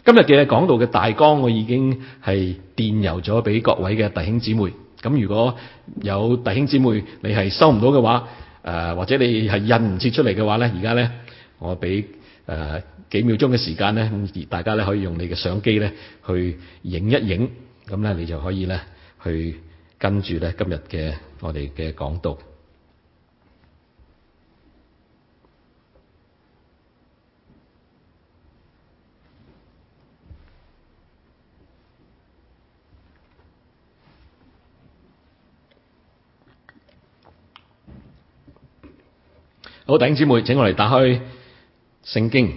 今日嘅講道嘅大綱我已經係電郵咗俾各位嘅弟兄姊妹。咁如果有弟兄姊妹你係收唔到嘅話，或者你係印唔切出嚟嘅話咧，而家咧我俾幾秒鐘嘅時間咧，大家咧可以用你嘅相機咧去影一影，咁咧你就可以咧去跟住咧今日嘅我哋嘅講道。好，弟兄姊妹，請我哋打開聖經，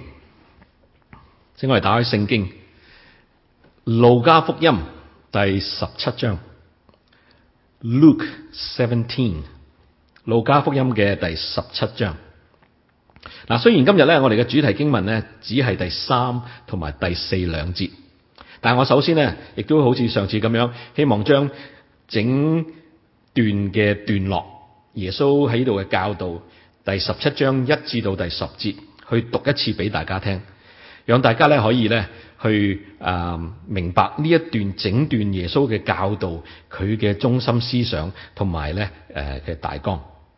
路加福音第17章 Luke 17， 路加福音嘅第17章。嗱，雖然今日咧我哋嘅主題經文咧只係第3同埋第4兩節，但係我首先咧亦都好似上次咁樣，希望將整段嘅段落，耶穌喺度嘅教導，第17章1至到第10節去讀一次俾大家聽，讓大家咧可以咧去明白呢一段整段耶穌嘅教導，佢嘅中心思想同埋咧嘅大綱。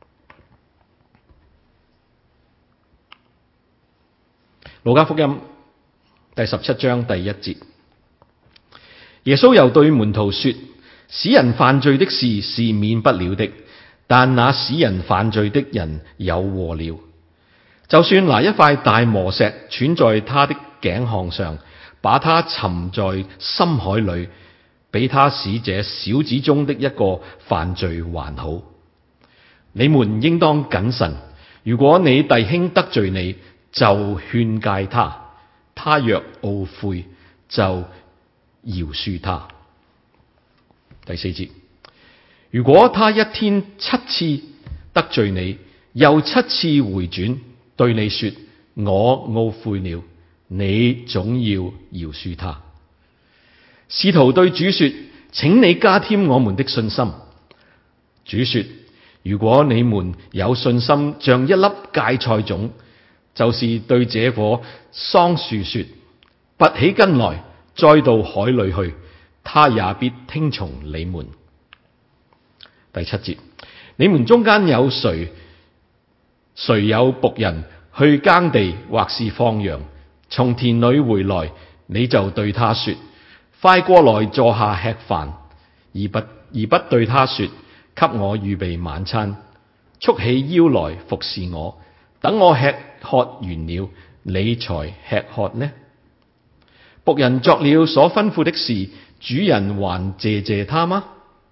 路加福音第17章第1節，耶穌又對門徒說：使人犯罪的事是免不了的，但那使人犯罪的人有禍了。就算拿一塊大磨石拴在他的頸項上，把他沉在深海裏，比他使這小子中的一個犯罪還好。你們應當謹慎，如果你弟兄得罪你，就勸誡他，他若懊悔，就饒恕他。第4節，如果他一天7次得罪你，又7次回轉對你說我懊悔了，你總要饒恕他。使徒對主說：請你加添我們的信心。主說：如果你們有信心像一粒芥菜種，就是對這棵桑樹說：拔起根來栽到海裏去，他也必聽從你們。第7節，你們中間有誰有僕人去耕地或是放羊，從田裏回來，你就對他說：快過來坐下吃飯，而不對他說：給我預備晚餐，束起腰來服侍我，等我吃喝完了，你才吃喝呢？僕人作了所吩咐的事，主人還謝謝他嗎？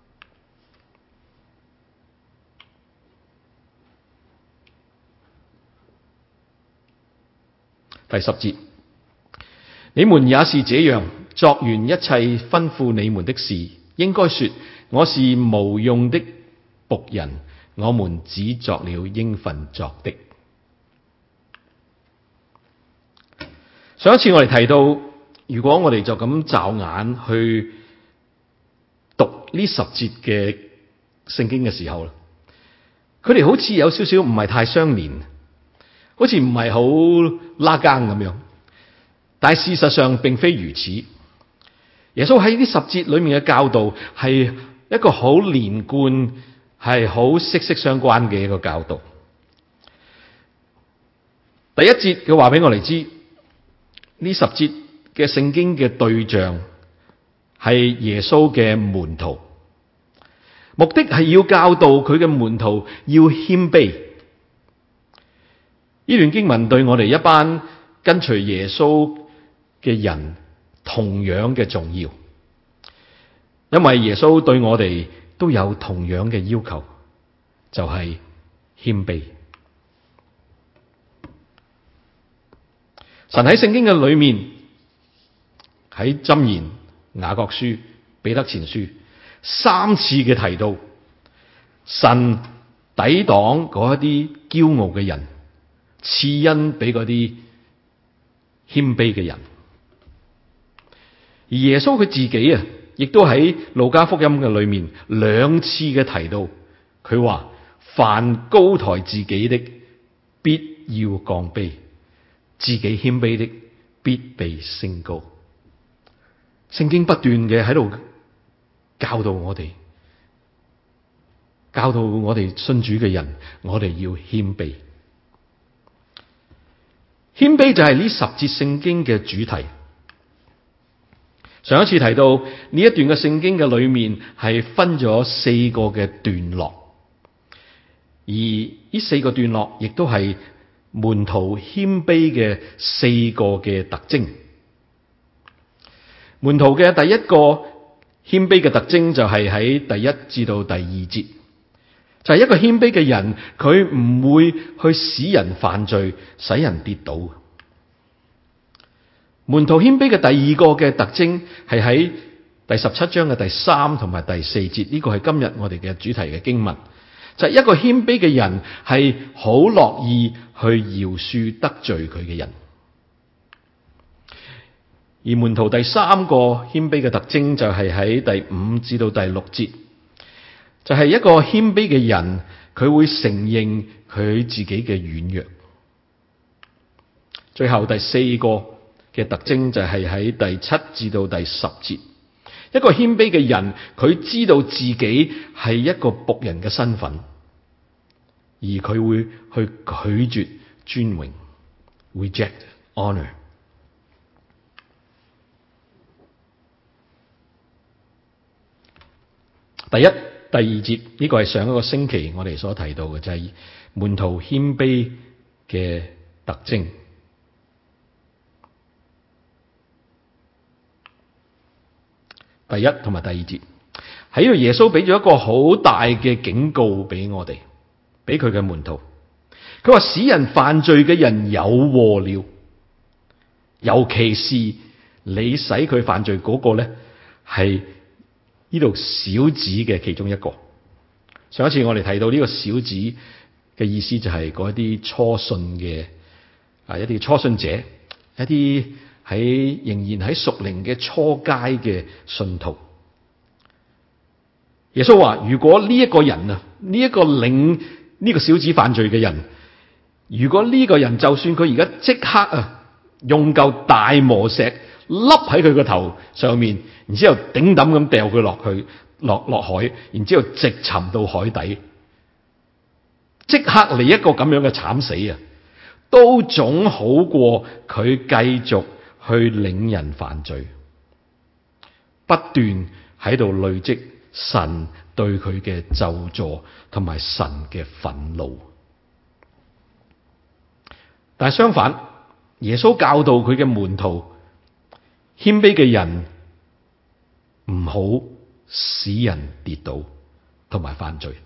第10節，你們也是這樣，作完一切吩咐你們的事，應該說：我是無用的僕人，我們只作了應份作的。上一次我哋提到，如果我哋就咁驟眼去讀呢10節嘅聖經嘅時候，佢哋好似有少少唔係太相連，好似唔係好拉更咁樣。但係事實上並非如此。耶穌喺呢10節裏面嘅教導係一個好連貫，係好息息相關嘅一個教導。第一節佢話俾我哋知，呢10節嘅聖經嘅對象係耶穌嘅門徒，目的係要教導佢嘅門徒要謙卑。呢段經文對我哋一班跟隨耶穌嘅人同樣嘅重要，因為耶穌對我哋都有同樣嘅要求，就係謙卑。神喺聖經嘅裏面，喺箴言、雅各書、彼得前書3次嘅提到，神抵擋嗰一啲驕傲嘅人，賜恩俾嗰啲謙卑嘅人。而耶穌佢自己亦都喺路加福音嘅裏面2次嘅提到，佢話：凡高抬自己的，必要降卑；自己謙卑的，必被升高。 聖經不斷嘅喺度教導我哋信主嘅人，我哋要謙卑。謙卑就係呢10節聖經嘅主題。上一次提到呢一段嘅聖經嘅裏面係分咗4個嘅段落，而呢4個段落亦都係門徒謙卑嘅4個嘅特徵。門徒嘅第一個謙卑嘅特徵就係喺第1至到第2節，就係一個謙卑嘅人，佢唔會去使人犯罪，使人跌倒。門徒謙卑嘅第2個嘅特徵係喺第17章嘅第3同埋第4節，呢個係今日我哋嘅主題嘅經文，就係一個謙卑嘅人係好樂意去饒恕得罪佢嘅人。而門徒第3個謙卑嘅特徵就係喺第5至到第6節，就係一個謙卑嘅人，佢會承認佢自己嘅軟弱。最後第4個嘅特徵就係喺第7至到第10節，一個謙卑嘅人，佢知道自己係一個僕人嘅身份，而佢會去拒絕尊榮 ，reject honor。第1、第2節呢個係上一個星期我哋所提到嘅，就係門徒謙卑嘅特徵。第1同埋第2節喺呢度，耶穌俾咗一個好大嘅警告俾我哋，俾佢嘅門徒。佢話使人犯罪嘅人有禍了，尤其是你使佢犯罪嗰個咧，係呢度小子嘅其中一個。上一次我哋提到呢個小子嘅意思就係嗰一啲初信嘅一啲初信者，一啲仍然喺屬靈嘅初階嘅信徒。耶穌話：如果呢一個人啊，呢一個領呢個小子犯罪嘅人，如果呢個人就算佢而家即刻用嚿大磨石笠喺佢個頭上面，然之後頂抌咁掉佢落海，然之後直沉到海底，即刻嚟一個咁樣嘅慘死啊，都總好過佢繼續去領人犯罪，不斷喺度累積神對佢嘅咒詛同埋神嘅憤怒。但係相反，耶穌教導佢嘅門徒，謙卑嘅人唔好使人跌倒同埋犯罪，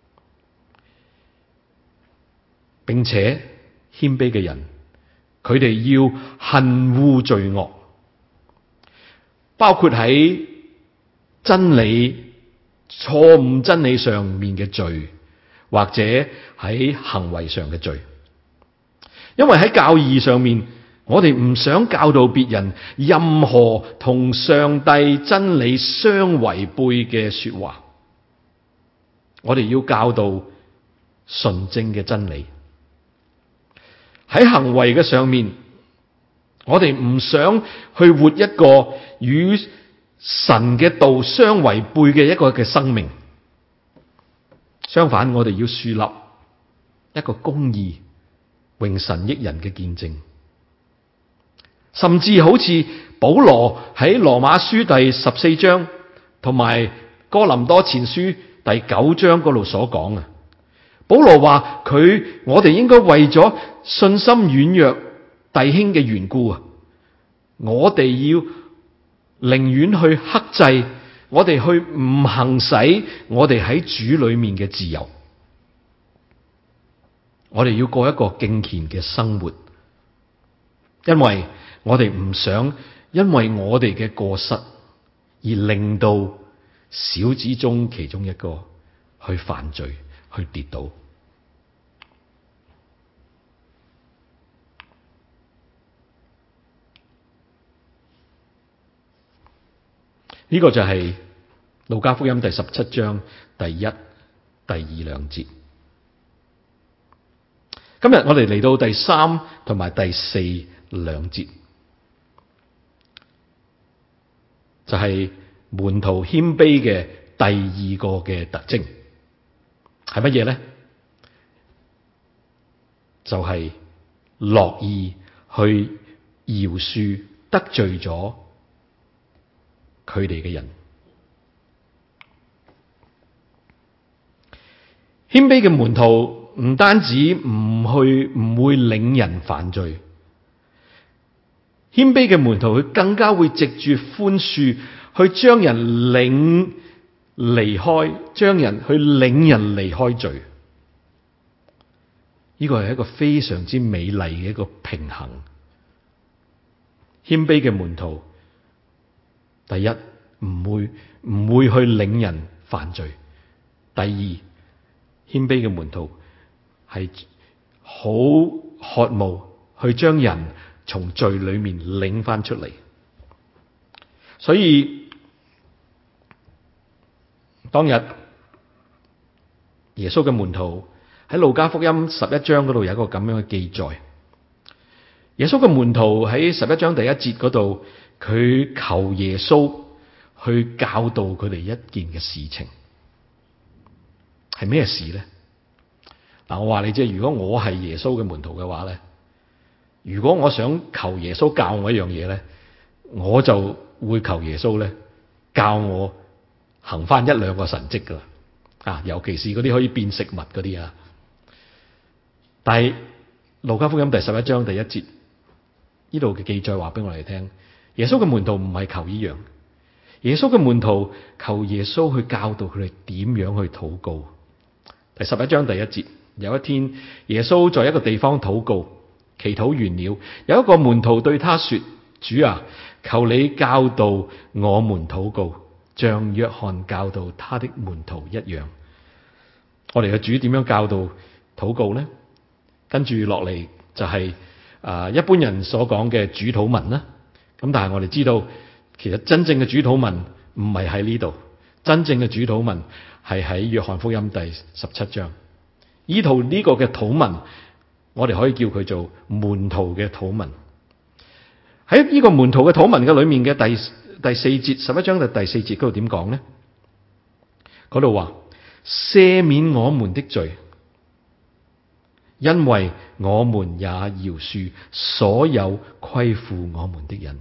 並且謙卑嘅人，佢哋要恨惡罪惡，包括喺錯誤真理上面嘅罪，或者喺行為上嘅罪。因為喺教義上面，我哋唔想教導別人任何同上帝真理相違背嘅說話，我哋要教導純正嘅真理。喺行為嘅上面，我哋唔想去活一個與神嘅道相違背嘅一個嘅生命。相反，我哋要樹立一個公義、榮神益人嘅見證，甚至好似保羅喺羅馬書第14章同埋哥林多前書第9章嗰度所講啊。保羅話我哋應該為咗信心軟弱弟兄嘅緣故啊，我哋要寧願去克制，我哋去唔行使我哋喺主裏面嘅自由。我哋要過一個敬虔嘅生活，因為我哋唔想因為我哋嘅過失而令到小子中其中一個去犯罪，去跌倒。呢個就係路加福音第17章第1、第2兩節。今日我哋嚟到第3同埋第4兩節， 就係門徒謙卑嘅第二個嘅特徵係乜嘢呢？就係樂意去饒恕得罪咗佢哋嘅人。謙卑嘅門徒唔單止唔會領人犯罪，謙卑嘅門徒佢更加會藉住寬恕去將人領離開，將人去領人離開罪。呢個係一個非常之美麗嘅一個平衡。謙卑嘅門徒，第一唔會去領人犯罪；第二，謙卑嘅門徒係好渴慕去將人從罪裏面領翻出嚟。所以當日耶穌嘅門徒喺路加福音11章嗰度有一個咁樣嘅記載。耶穌嘅門徒喺11章第1節嗰度，佢求耶穌去教導佢哋一件嘅事情。係咩事呢？嗱，我話你知，如果我係耶穌嘅門徒嘅話咧，如果我想求耶穌教我一樣嘢咧，我就會求耶穌咧教我行翻一兩個神蹟噶啦，尤其是嗰啲可以變食物嗰啲啊。但係路加福音第11章第1節呢度嘅記載話俾我哋聽，耶穌嘅門徒唔係求呢樣，耶穌嘅門徒求耶穌去教導佢哋點樣去禱告。第11章第1節，有一天耶穌在一個地方禱告，祈禱完了，有一個門徒對他說：主啊，求你教導我們禱告，像約翰教導他的門徒一樣。我哋嘅主點樣教導禱告呢？跟住落嚟就係一般人所講嘅主禱文啦。咁但係我哋知道，其實真正嘅主禱文唔係喺呢度，真正嘅主禱文係喺約翰福音第17章。呢個嘅禱文，我哋可以叫佢做門徒嘅禱文。喺呢個門徒嘅禱文嘅裏面嘅第4節，11章嘅第4節嗰度點講呢？嗰度話：赦免我們的罪，因為我們也饒恕所有虧負我們的人。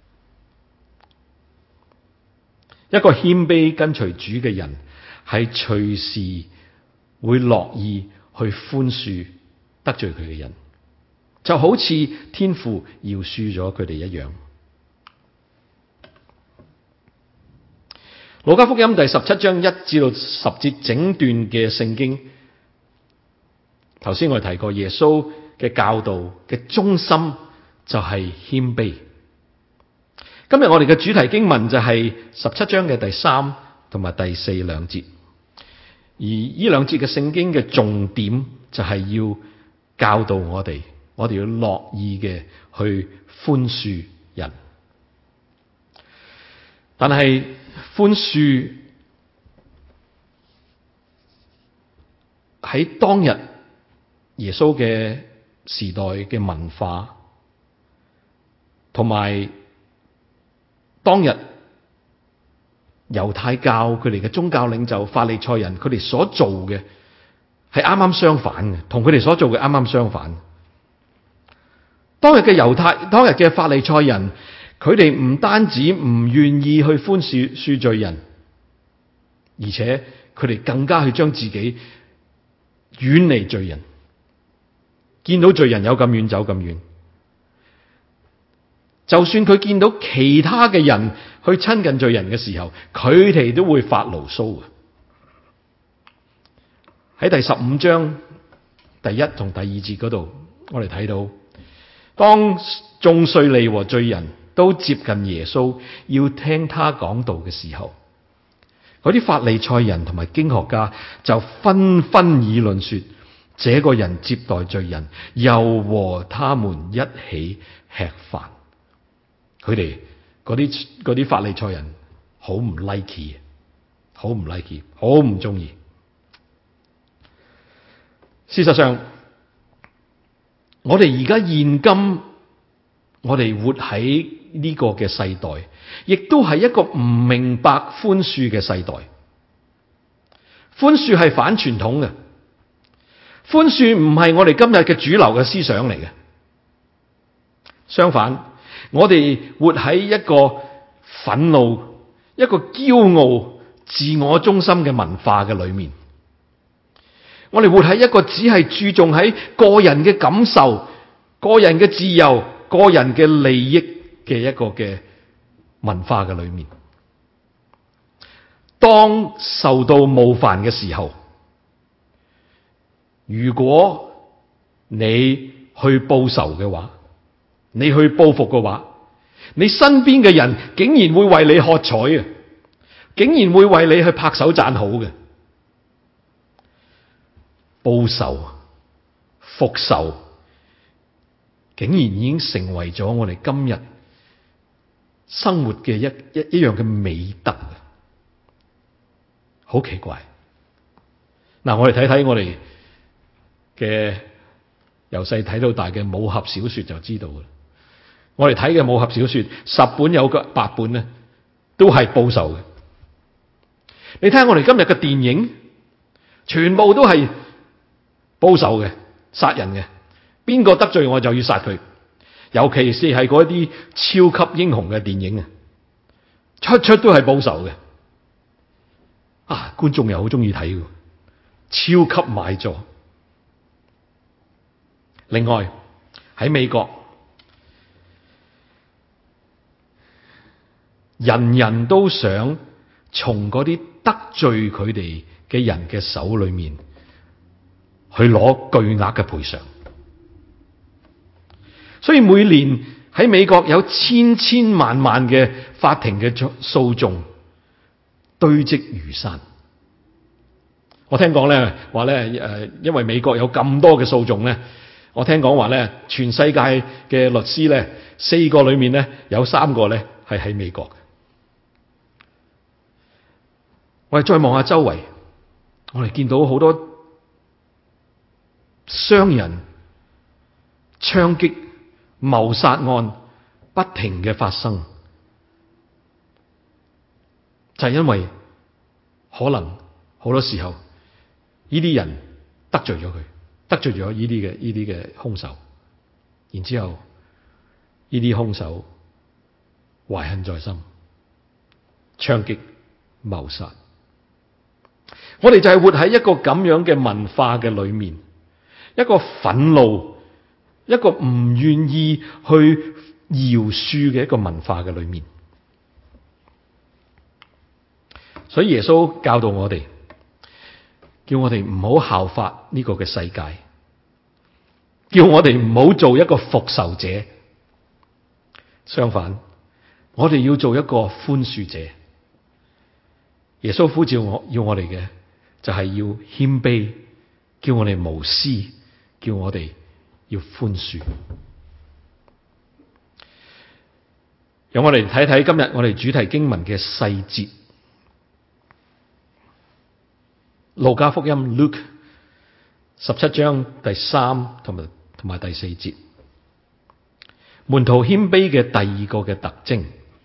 一個謙卑跟隨主嘅人，係隨時會樂意去寬恕得罪佢嘅人，就好似天父饒恕咗佢哋一樣。路加福音第17章1至到10節整段嘅聖經，頭先我哋提過耶穌嘅教導嘅中心就係謙卑。今日我哋嘅主題經文就係17章嘅第3同埋第4兩節，而呢兩節嘅聖經嘅重點就係要教導我哋要樂意嘅去寬恕人。但係寬恕喺當日耶穌嘅時代嘅文化，同埋當日猶太教佢哋嘅宗教領袖法利賽人佢哋所做嘅係啱啱相反嘅，同佢哋所做嘅啱啱相反。當日嘅法利賽人，佢哋唔單止唔願意去寬恕罪人，而且佢哋更加去將自己遠離罪人，見到罪人有咁遠走咁遠。就算佢見到其他嘅人去親近罪人嘅時候，佢哋都會發牢騷嘅。喺第15章第1同第2節嗰度，我哋睇到，當眾稅吏和罪人都接近耶穌，要聽他講道嘅時候，嗰啲法利賽人同埋經學家就紛紛議論說：這個人接待罪人，又和他們一起吃飯。佢哋嗰啲法利賽人好唔 like， 好唔中意。事實上，我哋而家現今我哋活喺呢個嘅世代，亦都係一個唔明白寬恕嘅世代。寬恕係反傳統嘅，寬恕唔係我哋今日嘅主流嘅思想嚟嘅。相反，我哋活喺一個憤怒、一個驕傲、自我中心嘅文化嘅裏面。我哋活喺一個只係注重喺個人嘅感受、個人嘅自由、個人嘅利益嘅一個嘅文化嘅裏面。當受到冒犯嘅時候，如果你去報仇嘅話，你去報復嘅話，你身邊嘅人竟然會為你喝彩嘅，竟然會為你去拍手讚好嘅。報仇、復仇，竟然已經成為咗我哋今日生活嘅一樣嘅美德。好奇怪。嗱，我哋睇睇我哋嘅由細睇到大嘅武俠小說就知道啦。我哋睇嘅武俠小說10本有個8本咧，都係報仇嘅。你睇下我哋今日嘅電影，全部都係報仇嘅，殺人嘅，邊個得罪我就要殺佢。尤其是係嗰啲超級英雄嘅電影啊，出都係報仇嘅。觀眾又好中意睇嘅，超級買座。另外喺美國，人人都想從嗰啲得罪佢哋嘅人嘅手裏面去攞巨額嘅賠償，所以每年喺美國有千萬嘅法庭嘅訴訟堆積如山。我聽講咧話咧，因為美國有咁多嘅訴訟咧，我聽講話咧，全世界嘅律師咧，4個裏面咧有3個咧係喺美國。我哋再望下周圍，我哋見到好多傷人、槍擊、謀殺案不停嘅發生，就係因為可能好多時候呢啲人得罪咗佢，得罪咗呢啲嘅兇手，然之後呢啲兇手懷恨在心，槍擊謀殺。我哋就係活喺一個咁樣嘅文化嘅裏面，一個憤怒，一個唔願意去饒恕嘅一個文化嘅裏面。所以耶穌教導我哋，叫我哋唔好效法呢個嘅世界，叫我哋唔好做一個復仇者。相反，我哋要做一個寬恕者。耶穌呼召要我哋嘅就係要謙卑，叫我哋無私，叫我哋要寬恕。讓我哋睇睇今日我哋主題經文嘅細節。路加福音 Luke 17章第3同埋第4節，門徒謙卑嘅第2個嘅特徵。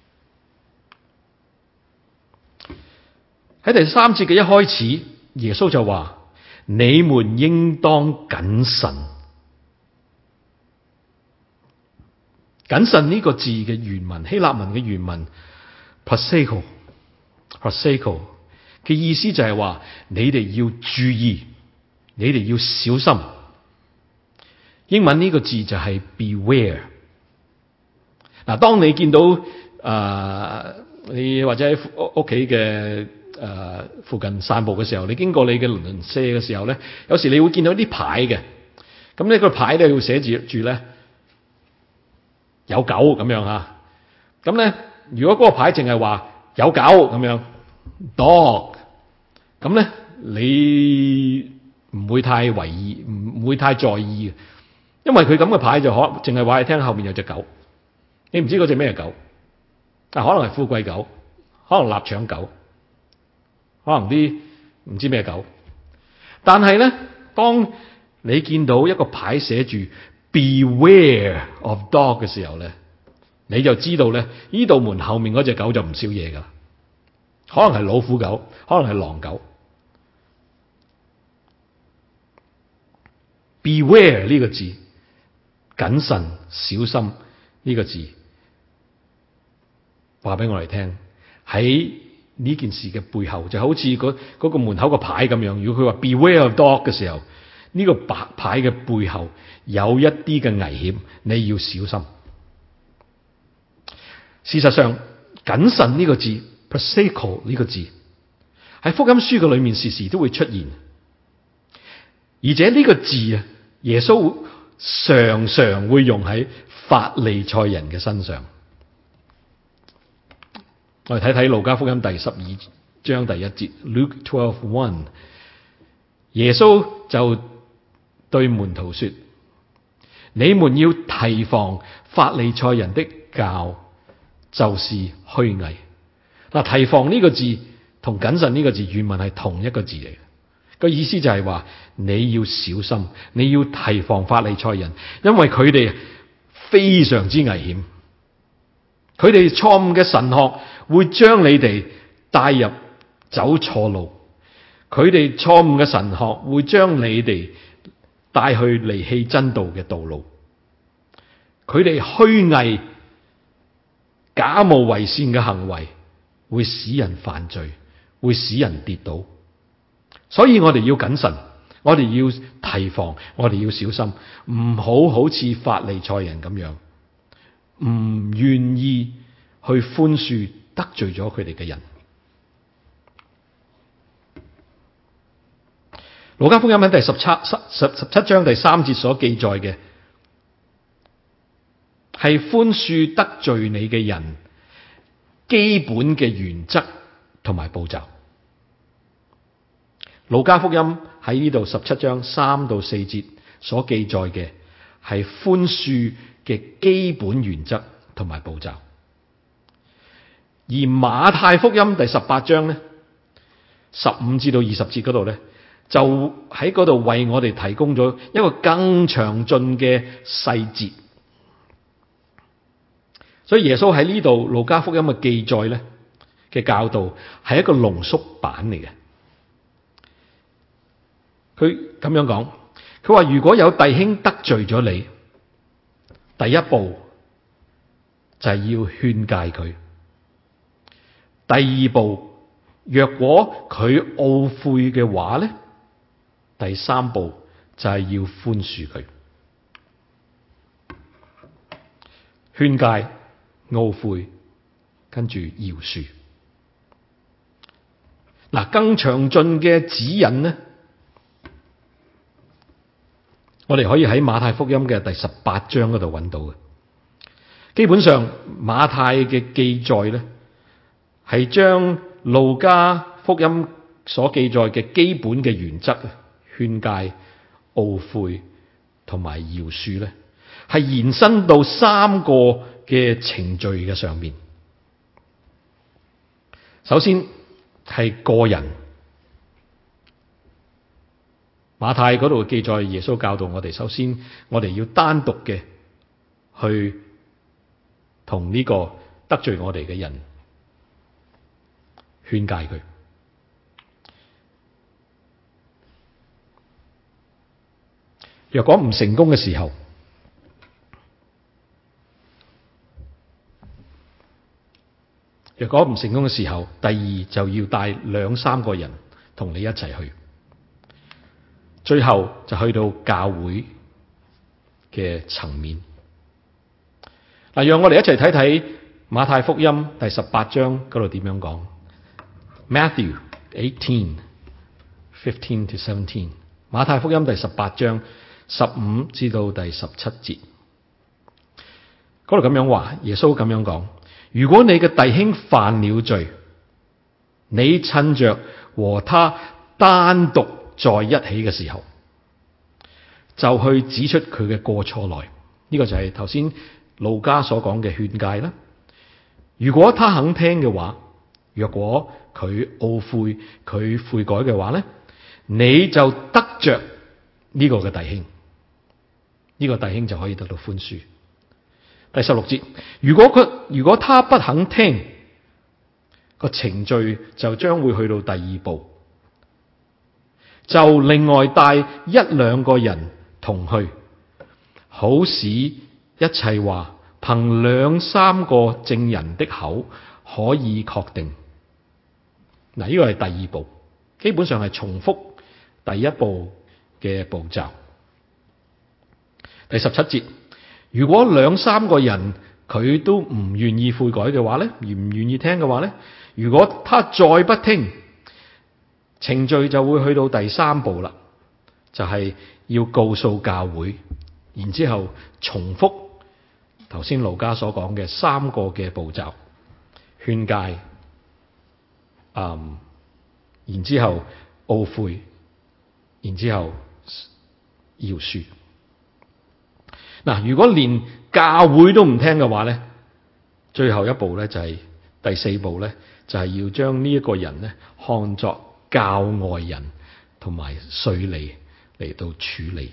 喺第3節嘅一開始，耶穌就話：你們應當謹慎。謹慎呢個字嘅原文，希臘文嘅原文 proseko 嘅意思就係話，你哋要注意，你哋要小心。英文呢個字就係 beware。嗱，當你見到你或者喺屋企嘅附近散步嘅時候，你經過你嘅鄰舍嘅時候咧，有時你會見到啲牌嘅。咁呢個牌咧要寫住咧有狗咁樣吓。咁咧如果嗰個牌淨係話有狗咁樣 dog， 咁咧你唔會太為意，唔會太在意嘅，因為佢咁嘅牌就可淨係話你聽後面有隻狗，你唔知嗰隻咩狗。可能係富貴狗，可能臘腸狗，可能啲唔知咩狗。但係咧，當你見到一個牌寫住 Beware of Dog 嘅時候咧， 你就知道咧，呢道門後面嗰隻狗就唔少嘢噶，可能係老虎狗，可能係狼狗。Beware 呢個字，謹慎小心呢個字，話俾我哋聽，喺呢件事嘅背後，就好似嗰個門口個牌咁樣。如果佢話 Beware of dog 嘅時候，呢個白牌嘅背後有一啲嘅危險，你要小心。事實上，謹慎呢個字 prosaico 呢個字喺福音書嘅裏面時時都會出現，而且呢個字啊，耶穌常常會用喺法利賽人嘅身上。我哋睇睇路加福音第12章第1節 Luke 12:1， 耶穌就對門徒說：你們要提防法利賽人的教，就是虛偽。嗱，提防呢個字同謹慎呢個字原文係同一個字嚟嘅，個意思就係話你要小心，你要提防法利賽人，因為佢哋非常之危險。佢哋錯誤嘅神學會將你哋帶入走錯路，佢哋錯誤嘅神學會將你哋帶去離棄真道嘅道路。佢哋虛偽假冒為善嘅行為會使人犯罪，會使人跌倒。所以我哋要謹慎，我哋要提防，我哋要小心，唔好似法利賽人咁樣，唔願意去寬恕得罪咗佢哋嘅人。路加福音喺第17章第3節所記載嘅係寬恕得罪你嘅人基本嘅原則同埋步驟。路加福音喺呢度17章3到4節所記載嘅係寬恕嘅基本原則同埋步驟，而馬太福音第18章咧15至到20節嗰度咧，就喺嗰度為我哋提供咗一個更詳盡嘅細節。所以耶穌喺呢度路加福音嘅記載咧嘅教導係一個濃縮版嚟嘅。佢咁樣講，佢話如果有弟兄得罪咗你，第一步就係要勸誡佢。第二步，若果佢懊悔嘅話咧，第三步就係要寬恕佢。勸誡、懊悔，跟住饒恕。嗱，更詳盡嘅指引呢，我哋可以喺馬太福音嘅第18章嗰度揾到嘅。基本上馬太嘅記載咧，係將路加福音所記載嘅基本嘅原則，勸誡、懊悔同埋饒恕咧，係延伸到3個嘅程序嘅上面。首先係個人，馬太嗰度記載耶穌教導我哋，首先我哋要單獨嘅去同呢個得罪我哋嘅人勸誡佢。若果唔成功嘅時候，第二就要帶2-3個人同你一齊去，最後就去到教會嘅層面。嗱，讓我哋一齊睇睇馬太福音第18章嗰度點樣講。Matthew 18:15 to 17，馬太福音第18章15至到第17節，嗰度咁樣話，耶穌咁樣講：如果你嘅弟兄犯了罪，你趁着和他單獨在一起嘅時候，就去指出佢嘅過錯來。呢個就係頭先路加所講嘅勸誡啦。如果他肯聽嘅話，若果佢懊悔，佢悔改嘅話咧，你就得着呢個嘅弟兄，呢個弟兄就可以得到寬恕。 第16節，如果他不肯聽，個程序就將會去到第二步，就另外帶一兩個人同去，好使一切話憑兩三個證人的口可以確定。嗱，呢個係第二步，基本上係重複第一步嘅步驟。第17節，如果兩三個人佢都唔願意悔改嘅話咧，而唔願意聽嘅話咧，如果他再不聽，程序就會去到第三步啦，就係要告訴教會，然之後重複頭先路加所講嘅三個嘅步驟：勸戒，然之後懊悔，然之後饒恕。嗱，如果連教會都唔聽嘅話咧，最後一步咧就係第四步咧，就係要將呢一個人咧看作教外人同埋稅吏嚟到處理。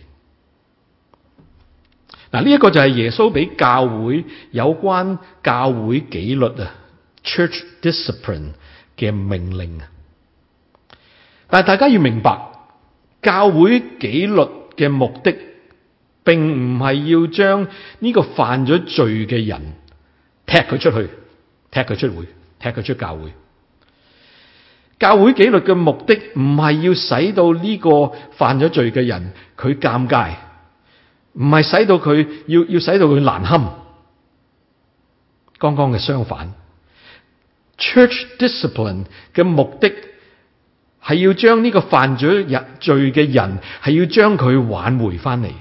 嗱，呢一個就係耶穌俾教會有關教會紀律啊 ，church discipline 嘅命令啊。但係大家要明白，教會紀律嘅目的，並唔係要將呢個犯咗罪嘅人踢佢出去、踢佢出會、踢佢出教會。教會紀律嘅目的唔係要使到呢個犯咗罪嘅人佢尷尬，唔係使到佢要使到佢難堪。剛剛嘅相反， Church discipline 嘅目的係要將呢個犯咗罪嘅人係要將佢挽回翻嚟，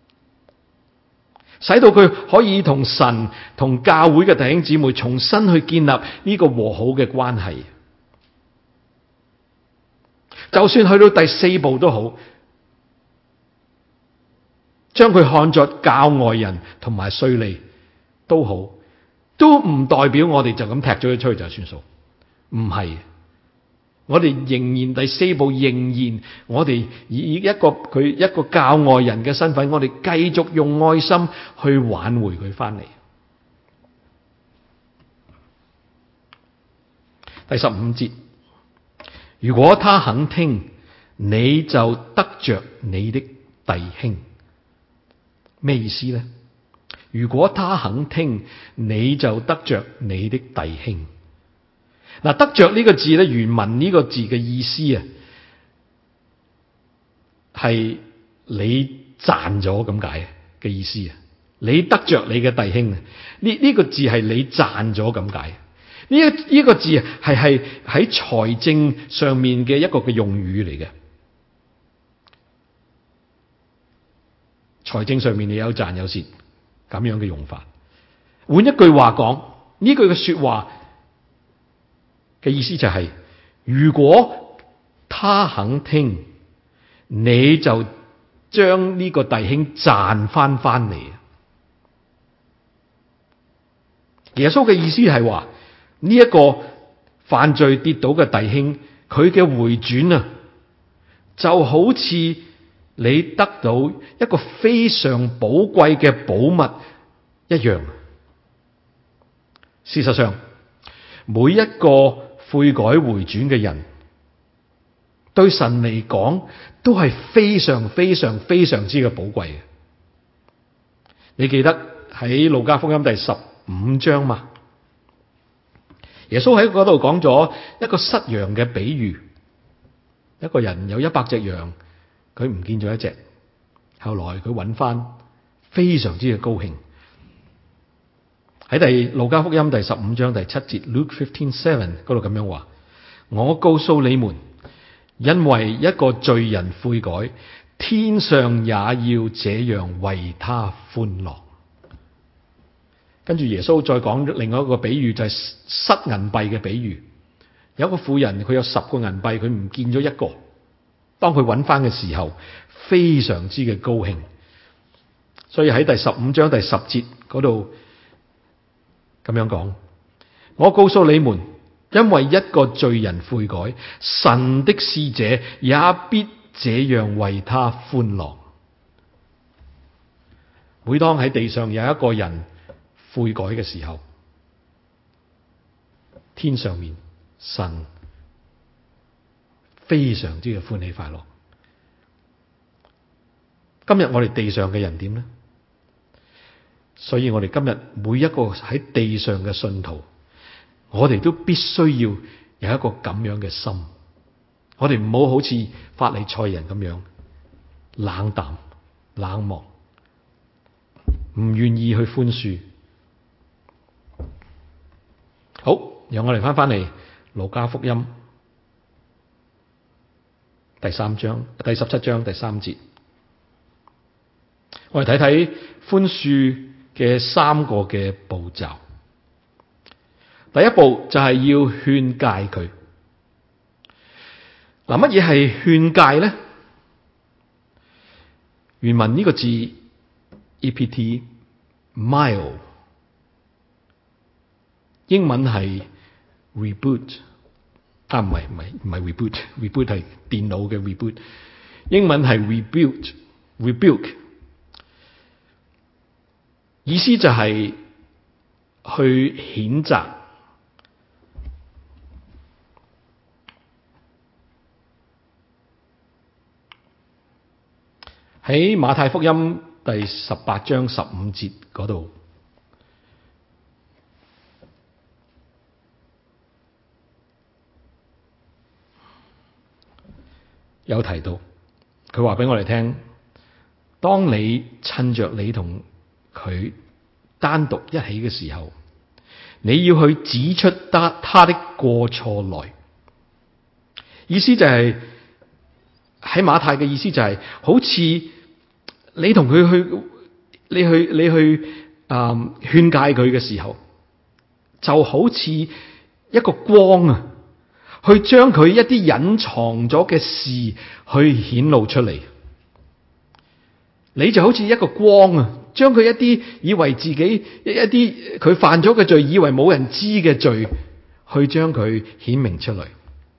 使到佢可以同神同教會嘅弟兄姊妹重新去建立呢個和好嘅關係。就算去到第四步都好，將佢看作教外人同埋稅吏都好，都唔代表我哋就咁踢咗佢出去就算數。唔係，我哋仍然第四步，仍然我哋以一個教外人嘅身份，我哋繼續用愛心去挽回佢翻嚟。第15節，如果他肯聽，你就得着你的弟兄。咩意思呢？如果他肯聽，你就得着你的弟兄。嗱，得着呢個字咧，原文呢個字嘅意思啊，係你賺咗咁解嘅意思啊。你得着你嘅弟兄啊，呢個字係你賺咗咁解。呢個字係喺財政上面嘅一個嘅用語嚟嘅。財政上面你有賺有蝕咁樣嘅用法。換一句話講，呢句嘅說話嘅意思就係，如果他肯聽，你就將呢個弟兄賺翻嚟。耶穌嘅意思係話，呢一個犯罪跌倒嘅弟兄，佢嘅回轉啊，就好似你得到一個非常寶貴嘅寶物一樣。事實上，每一個悔改回轉嘅人，對神嚟講都係非常非常非常之嘅寶貴嘅。你記得喺路加福音第15章嘛？耶穌喺嗰度講咗一個失羊嘅比喻。一個人有100隻羊，佢唔見咗一隻，後來佢揾翻，非常之嘅高興。喺路加福音第15章第7節 Luke 15:7嗰度咁樣話：我告訴你們，因為一個罪人悔改，天上也要這樣為他歡樂。跟住耶穌再講另外一個比喻，就係失銀幣嘅比喻。有一個婦人，佢有10個銀幣，佢唔見咗一個。當佢揾翻嘅時候，非常之嘅高興。所以喺第15章第10節嗰度咁樣講：我告訴你們，因為一個罪人悔改，神的使者也必這樣為他歡樂。每當喺地上有一個人悔改嘅時候，天上面神非常之嘅歡喜快樂。今日我哋地上嘅人點呢？所以我哋今日每一個喺地上嘅信徒，我哋都必須要有一個咁樣嘅心。我哋唔好好似法利賽人咁樣冷淡冷漠，唔願意去寬恕。好，讓我哋翻嚟路加福音第17章第3節，我哋睇睇寬恕嘅3個嘅步驟。第一步就係要勸誡佢。嗱，乜嘢係勸誡咧？原文呢個字 ept mile， 英文係 reboot， 唔係 reboot 係電腦嘅 reboot， 英文係 rebuke， 意思就係去譴責。喺馬太福音第18章15節嗰度有提到，佢話俾我哋聽，當你趁着你同佢單獨一起嘅時候，你要去指出他的過錯來。意思就係喺馬太嘅意思就係，好似你同佢你去勸誡佢嘅時候，就好似一個光啊，去將佢一啲隱藏咗嘅事去顯露出嚟。你就好似一個光啊，將佢一啲以為自己一啲佢犯咗嘅罪，以為冇人知嘅罪，去將佢顯明出嚟。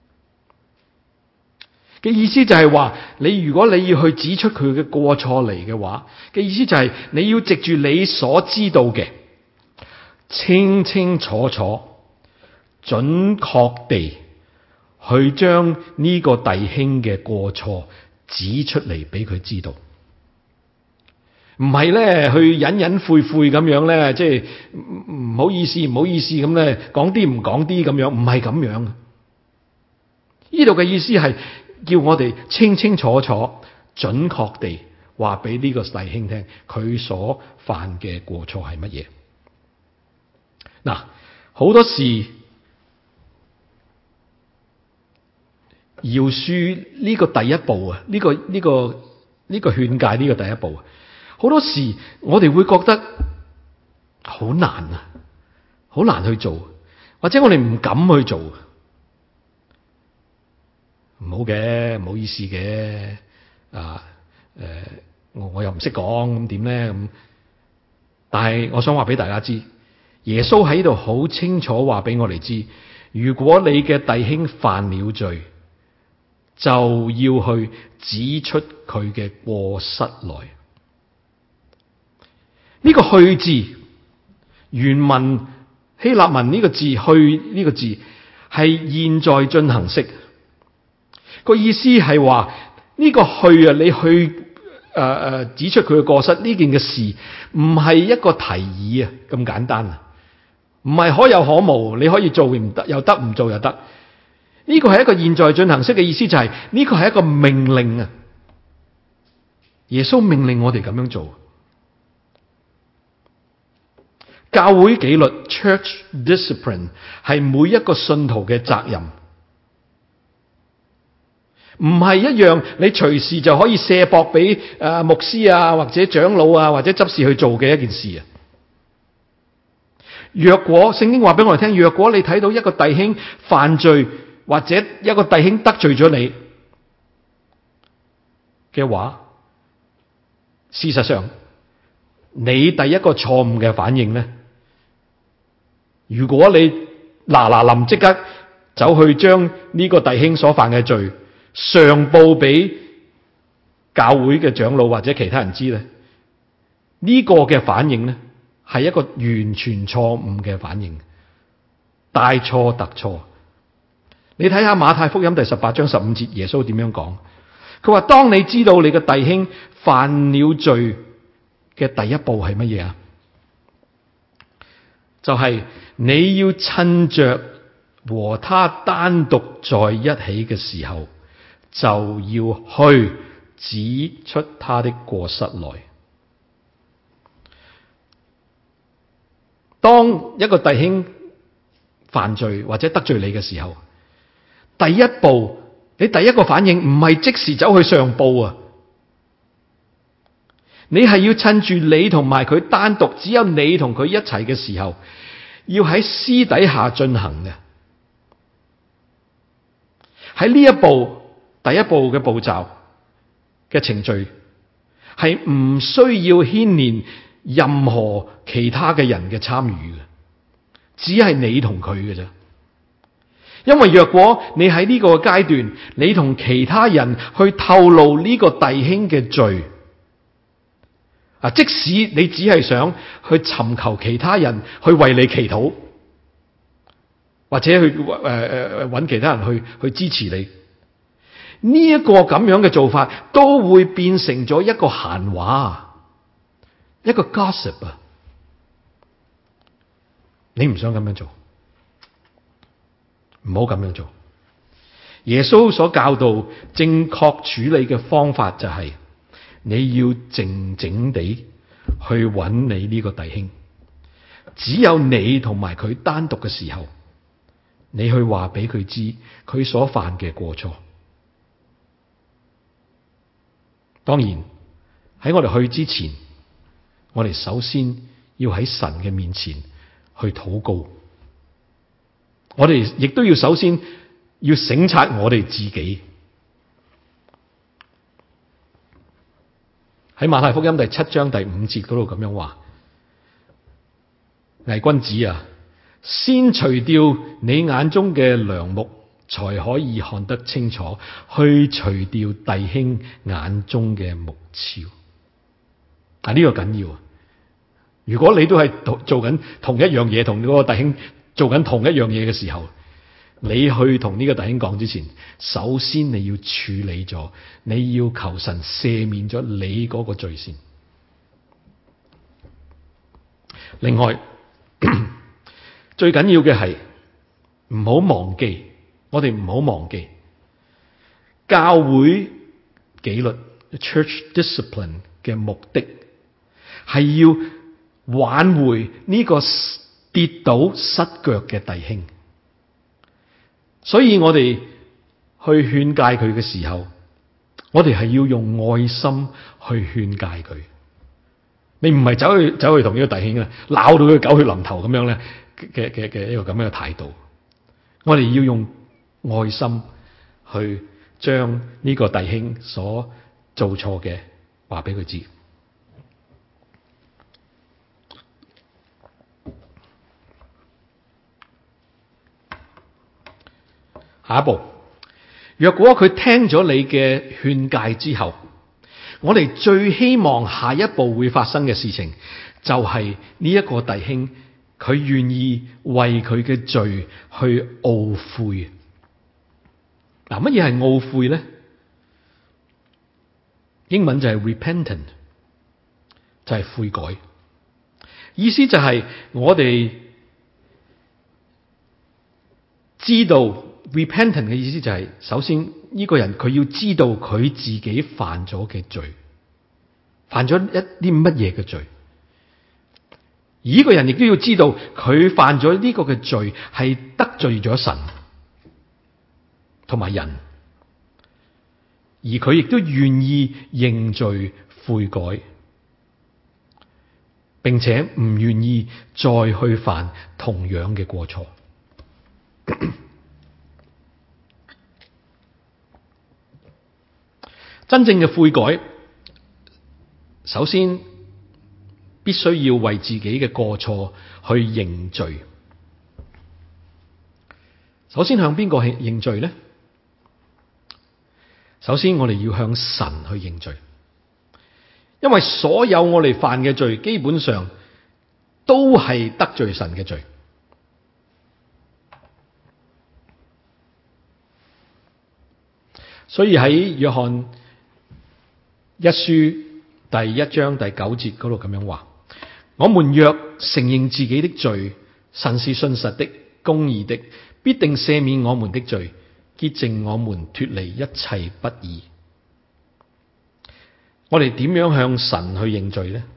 嘅意思就係話，如果你要去指出佢嘅過錯嚟嘅話，嘅意思就係你要藉住你所知道嘅，清清楚楚、準確地去將呢個弟兄嘅過錯指出嚟俾佢知道，唔係咧去隱隱晦晦咁樣咧，即係唔好意思咁咧，講啲唔講啲咁樣，唔係咁樣。呢度嘅意思係叫我哋清清楚楚、準確地話俾呢個弟兄聽，佢所犯嘅過錯係乜嘢。嗱，好多時饒恕呢個第一步啊，呢個勸誡呢個第一步啊，好多時我哋會覺得好難啊，好難去做，或者我哋唔敢去做。唔好嘅，唔好意思嘅，我又唔識講，咁點咧咁？但係我想話俾大家知，耶穌喺度好清楚話俾我哋知，如果你嘅弟兄犯了罪，就要去指出佢嘅過失來。呢個去字，原文希臘文呢個字去呢個字係現在進行式。個意思係話呢個去啊，你去指出佢嘅過失呢件嘅事，唔係一個提議啊咁簡單啊，唔係可有可無，你可以做唔得又得，唔做又得。呢個係一個現在進行式嘅意思，就係呢個係一個命令啊。耶穌命令我哋咁樣做。教會紀律 （Church Discipline） 係每一個信徒嘅責任。唔係一樣你隨時就可以卸膊俾牧師啊，或者長老啊，或者執事去做嘅一件事啊。若果聖經話俾我哋聽，若果你睇到一個弟兄犯罪，或者一個弟兄得罪咗你嘅話，事實上你第一個錯誤嘅反應咧，如果你嗱臨即刻走去將呢個弟兄所犯嘅罪上報俾教會嘅長老或者其他人知咧，呢個嘅反應咧係一個完全錯誤嘅反應，大錯特錯。你睇下馬太福音第18章15節，耶穌點樣講？佢話：當你知道你嘅弟兄犯了罪嘅第一步係乜嘢啊？就係你要趁着和他單獨在一起嘅時候，就要去指出他的過失來。當一個弟兄犯罪或者得罪你嘅時候，第一步，你第一個反應唔係即時走去上報啊，你係要趁住你同埋佢單獨，只有你同佢一齊嘅時候，要喺私底下進行嘅。喺呢一步，第一步嘅步驟嘅程序係唔需要牽連任何其他嘅人嘅參與嘅，只係你同佢嘅啫。因為若果你喺呢個階段，你同其他人去透露呢個弟兄嘅罪，即使你只係想去尋求其他人去為你祈禱，或者去揾其他人去支持你，呢一個咁樣嘅做法，都會變成咗一個閒話，一個 gossip 啊！你唔想咁樣做，唔好咁樣做。耶穌所教導正確處理嘅方法就係，你要靜靜地去揾你呢個弟兄，只有你同埋佢單獨嘅時候，你去話俾佢知佢所犯嘅過錯。當然喺我哋去之前，我哋首先要喺神嘅面前去禱告。我哋亦都要首先要省察我哋自己。喺馬太福音第7章第5節嗰度咁樣話：偽君子啊，先除掉你眼中嘅梁木，才可以看得清楚，去除掉弟兄眼中嘅木肖。呢個緊要啊！如果你都係做緊同一樣嘢，同嗰個弟兄做緊同一樣嘢嘅時候，你去同呢個弟兄講之前，首先你要處理咗，你要求神赦免咗你嗰個罪先。另外，最緊要嘅係唔好忘記，我哋唔好忘記教會紀律 （church discipline） 嘅目的係要挽回呢個跌倒失腳嘅弟兄。所以我哋去勸誡佢嘅時候，我哋係要用愛心去勸誡佢。你唔係走去同呢個弟兄啊鬧到佢狗血淋頭咁樣咧嘅一個咁樣嘅態度。我哋要用愛心去將呢個弟兄所做錯嘅話俾佢知。下一步，若果佢聽咗你嘅勸誡之後，我哋最希望下一步會發生嘅事情，就係呢一個弟兄佢願意為佢嘅罪去懊悔。乜嘢係懊悔咧？英文就係 repentant， 就係悔改。意思就係我哋知道。Repentant 嘅意思就係，首先呢個人佢要知道佢自己犯咗嘅罪，犯咗一啲乜嘢嘅罪，而呢個人亦都要知道佢犯咗呢個嘅罪係得罪咗神同埋人，而佢亦都願意認罪悔改，並且唔願意再去犯同樣嘅過錯。真正嘅悔改，首先必須要為自己嘅過錯去認罪。首先向邊個去認罪呢？首先我哋要向神去認罪，因為所有我哋犯嘅罪，基本上都係得罪神嘅罪。所以喺約翰一書第1章第9節嗰度咁樣話：我們若承認自己的罪，神是信實的、公義的，必定赦免我們的罪，潔淨我們脫離一切不義。我哋點樣向神去認罪呢？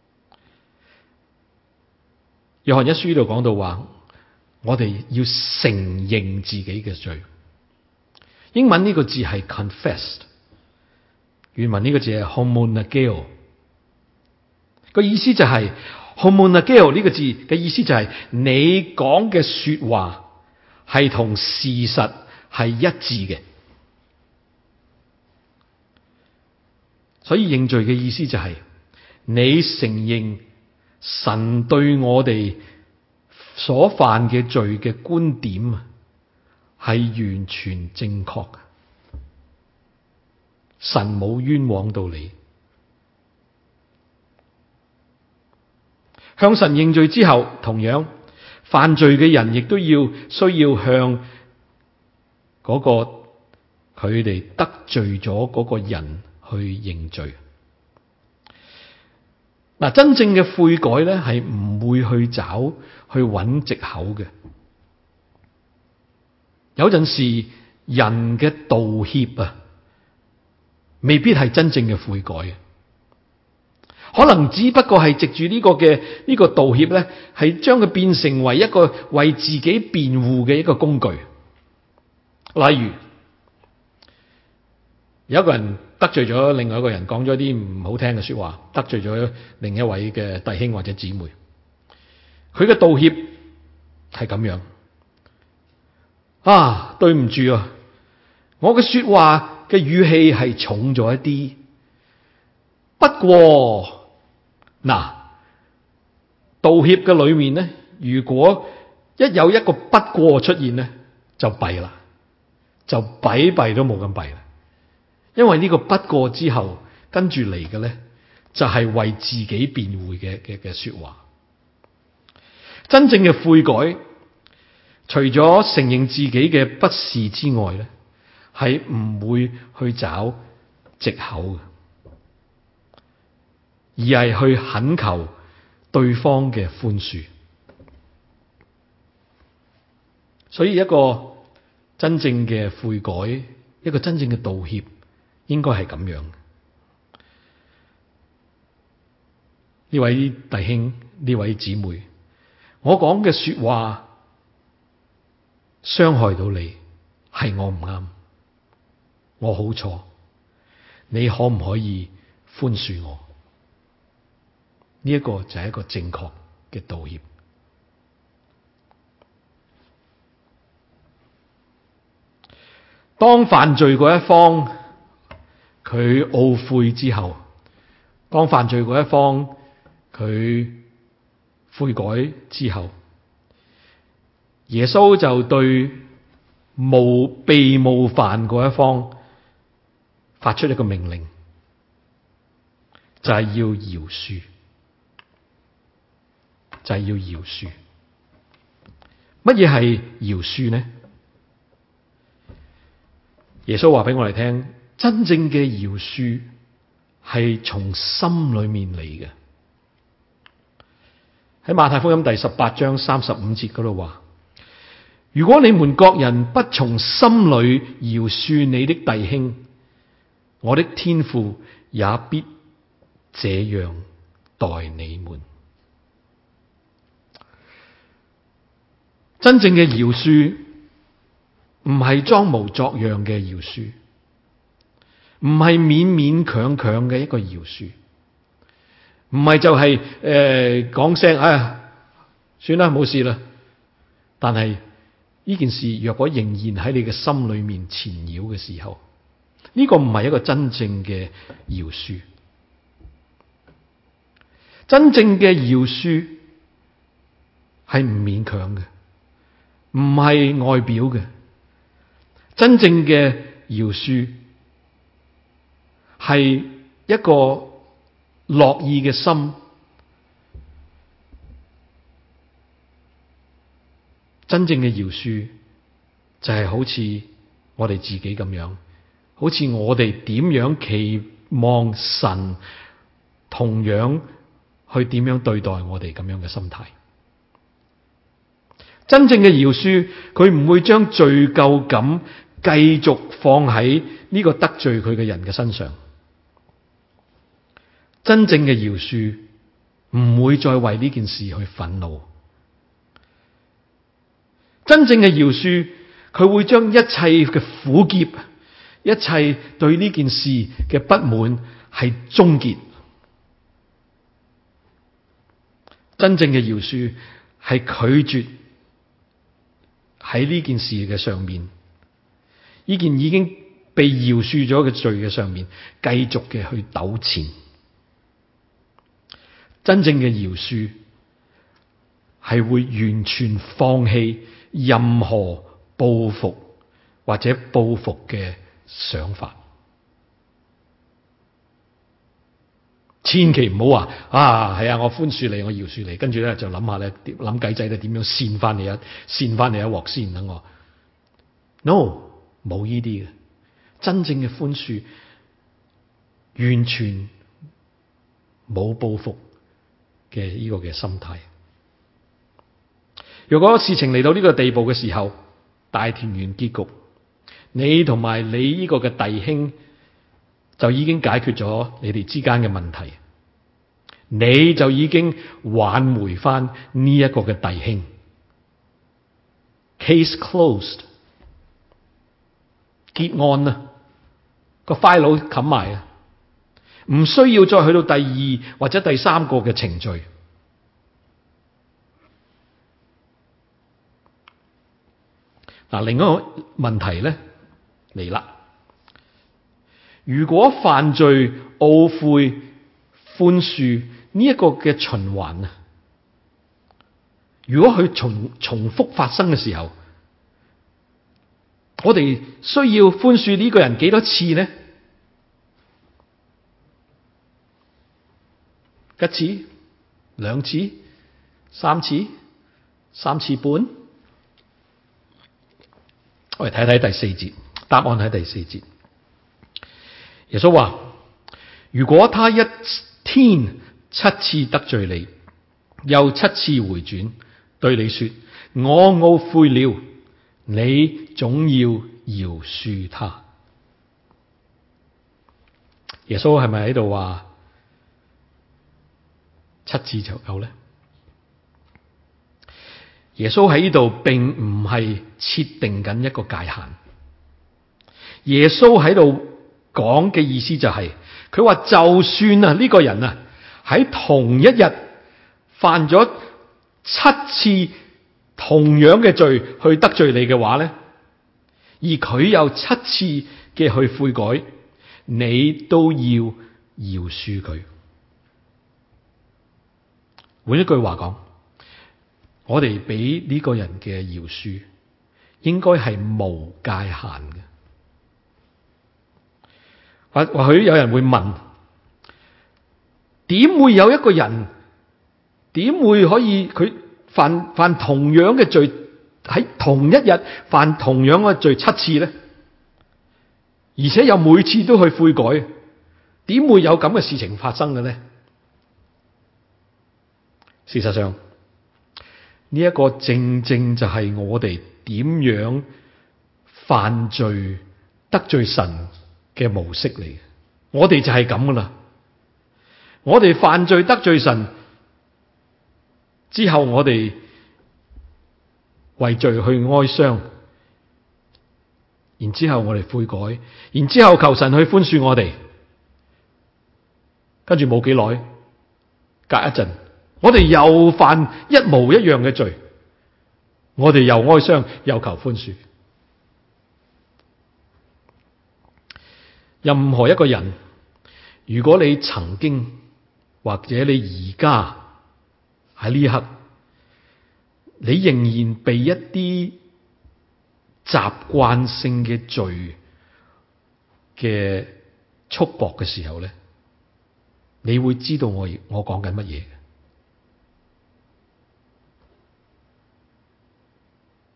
約翰一書呢度講到話，我哋要承認自己嘅罪。英文呢個字係 confessed， 原文呢個字係 homonageo， 個意思就係 homonageo 呢個字嘅意思就係你講嘅說話係同事實係一致嘅。所以認罪嘅意思就係你承認神對我哋所犯嘅罪嘅觀點係完全正確嘅，神冇冤枉到你。向神認罪之後，同樣犯罪嘅人亦都需要向嗰個佢哋得罪咗嗰個人去認罪。嗱，真正嘅悔改咧，係唔會去揾藉口嘅。有陣時人嘅道歉啊，未必係真正嘅悔改，可能只不過係藉住呢個道歉咧，係將佢變成為一個為自己辯護嘅一個工具。例如有一個人得罪咗另外一個人，講咗啲唔好聽嘅說話，得罪咗另一位嘅弟兄或者姊妹，佢嘅道歉係咁樣：啊，對唔住啊，我嘅說話嘅語氣係重咗一啲，不過嗱，道歉嘅裏面咧，如果一有一個不過出現咧，就弊啦，就弊都冇咁弊啦。因為呢個不過之後跟住嚟嘅咧，就係為自己辯護嘅說話。真正嘅悔改，除咗承認自己嘅不是之外咧，係唔會去找藉口嘅，而係去懇求對方嘅寬恕。所以一個真正嘅悔改，一個真正嘅道歉，應該係咁樣。呢位弟兄，呢位姊妹，我講嘅說話傷害到你，係我唔啱，我好錯，你可唔可以寬恕我？呢一個就係一個正確嘅道歉。當犯罪嗰一方佢懊悔之後，當犯罪嗰一方佢悔改之後，耶穌就對被冒犯嗰一方發出一個命令，就係要饒恕，就係要饒恕。乜嘢係饒恕呢？耶穌話俾我哋聽，真正嘅饒恕係從心裏面嚟嘅。喺馬太福音第18章35節嗰度話：如果你們各人不從心裏饒恕你的弟兄，我的天父也必這樣待你們。真正嘅饒恕唔係裝模作樣嘅饒恕，唔係勉勉強強嘅一個饒恕，唔係就係講聲算啦，冇事啦。但係呢件事若果仍然喺你嘅心裏面纏繞嘅時候，呢個唔係一個真正嘅饒恕。真正嘅饒恕係唔勉強嘅，唔係外表嘅。真正嘅饒恕係一個樂意嘅心， 真正嘅饒恕就係好似我哋自己咁樣，好似我哋點樣期望神同樣去點樣對待我哋咁樣嘅心態。真正嘅饒恕，佢唔會將罪疚感繼續放喺呢個得罪佢嘅人嘅身上。真正嘅饒恕唔會再為呢件事去憤怒。真正嘅饒恕，佢會將一切嘅苦澀，一切對呢件事嘅不滿係終結。真正嘅饒恕係拒絕喺呢件事嘅上面，呢件已經被饒恕咗嘅罪嘅上面，繼續嘅去糾纏。真正嘅饒恕係會完全放棄任何報復或者報復嘅想法。千祈唔好話係啊，我寬恕你，我饒恕你，跟住咧就諗下咧，諗計仔咧點樣扇翻你一鑊先等我。No， 冇呢啲嘅。真正嘅寬恕完全冇報復嘅呢個嘅心態。如果事情嚟到呢個地步嘅時候，大團圓結局，你同埋你呢個嘅弟兄就已經解決咗你哋之間嘅問題，你就已經挽回翻呢一個嘅弟兄。Case closed， 結案啦，個 file 冚埋啊，唔需要再去到第二或者第三個嘅程序。嗱，另一個問題咧嚟啦。如果犯罪、懊悔、寬恕呢一個嘅循環啊，如果佢重複發生嘅時候，我哋需要寬恕呢個人幾多次呢？一次、兩次、三次、三次半？我哋睇睇第四節，答案喺第四節。耶穌話：如果他一天7次得罪你，又7次回轉對你說我懊悔了，你總要饒恕他。耶穌係咪喺度話7次就夠呢？耶穌喺呢度並唔係設定緊一個界限。耶穌喺度講嘅意思就係，佢話就算啊呢個人啊喺同一日犯咗7次同樣嘅罪去得罪你嘅話咧，而佢有7次嘅去悔改，你都要饒恕佢。換一句話講，我哋俾呢個人嘅饒恕應該係無界限嘅。或許有人會問，點會有一個人，點會可以佢犯同樣嘅罪，喺同一日犯同樣嘅罪7次呢？而且又每次都去悔改，點會有咁嘅事情發生嘅呢？事實上，呢一個正正就係我哋點樣犯罪得罪神嘅模式嚟嘅。我哋就係咁噶啦。我哋犯罪得罪神之後，我哋為罪去哀傷，然之後我哋悔改，然之後求神去寬恕我哋，跟住冇幾耐，隔一陣，我哋又犯一模一樣嘅罪，我哋又哀傷又求寬恕。任何一個人，如果你曾經或者你而家喺呢一刻，你仍然被一啲習慣性嘅罪嘅束縛嘅時候咧，你會知道我講緊乜嘢。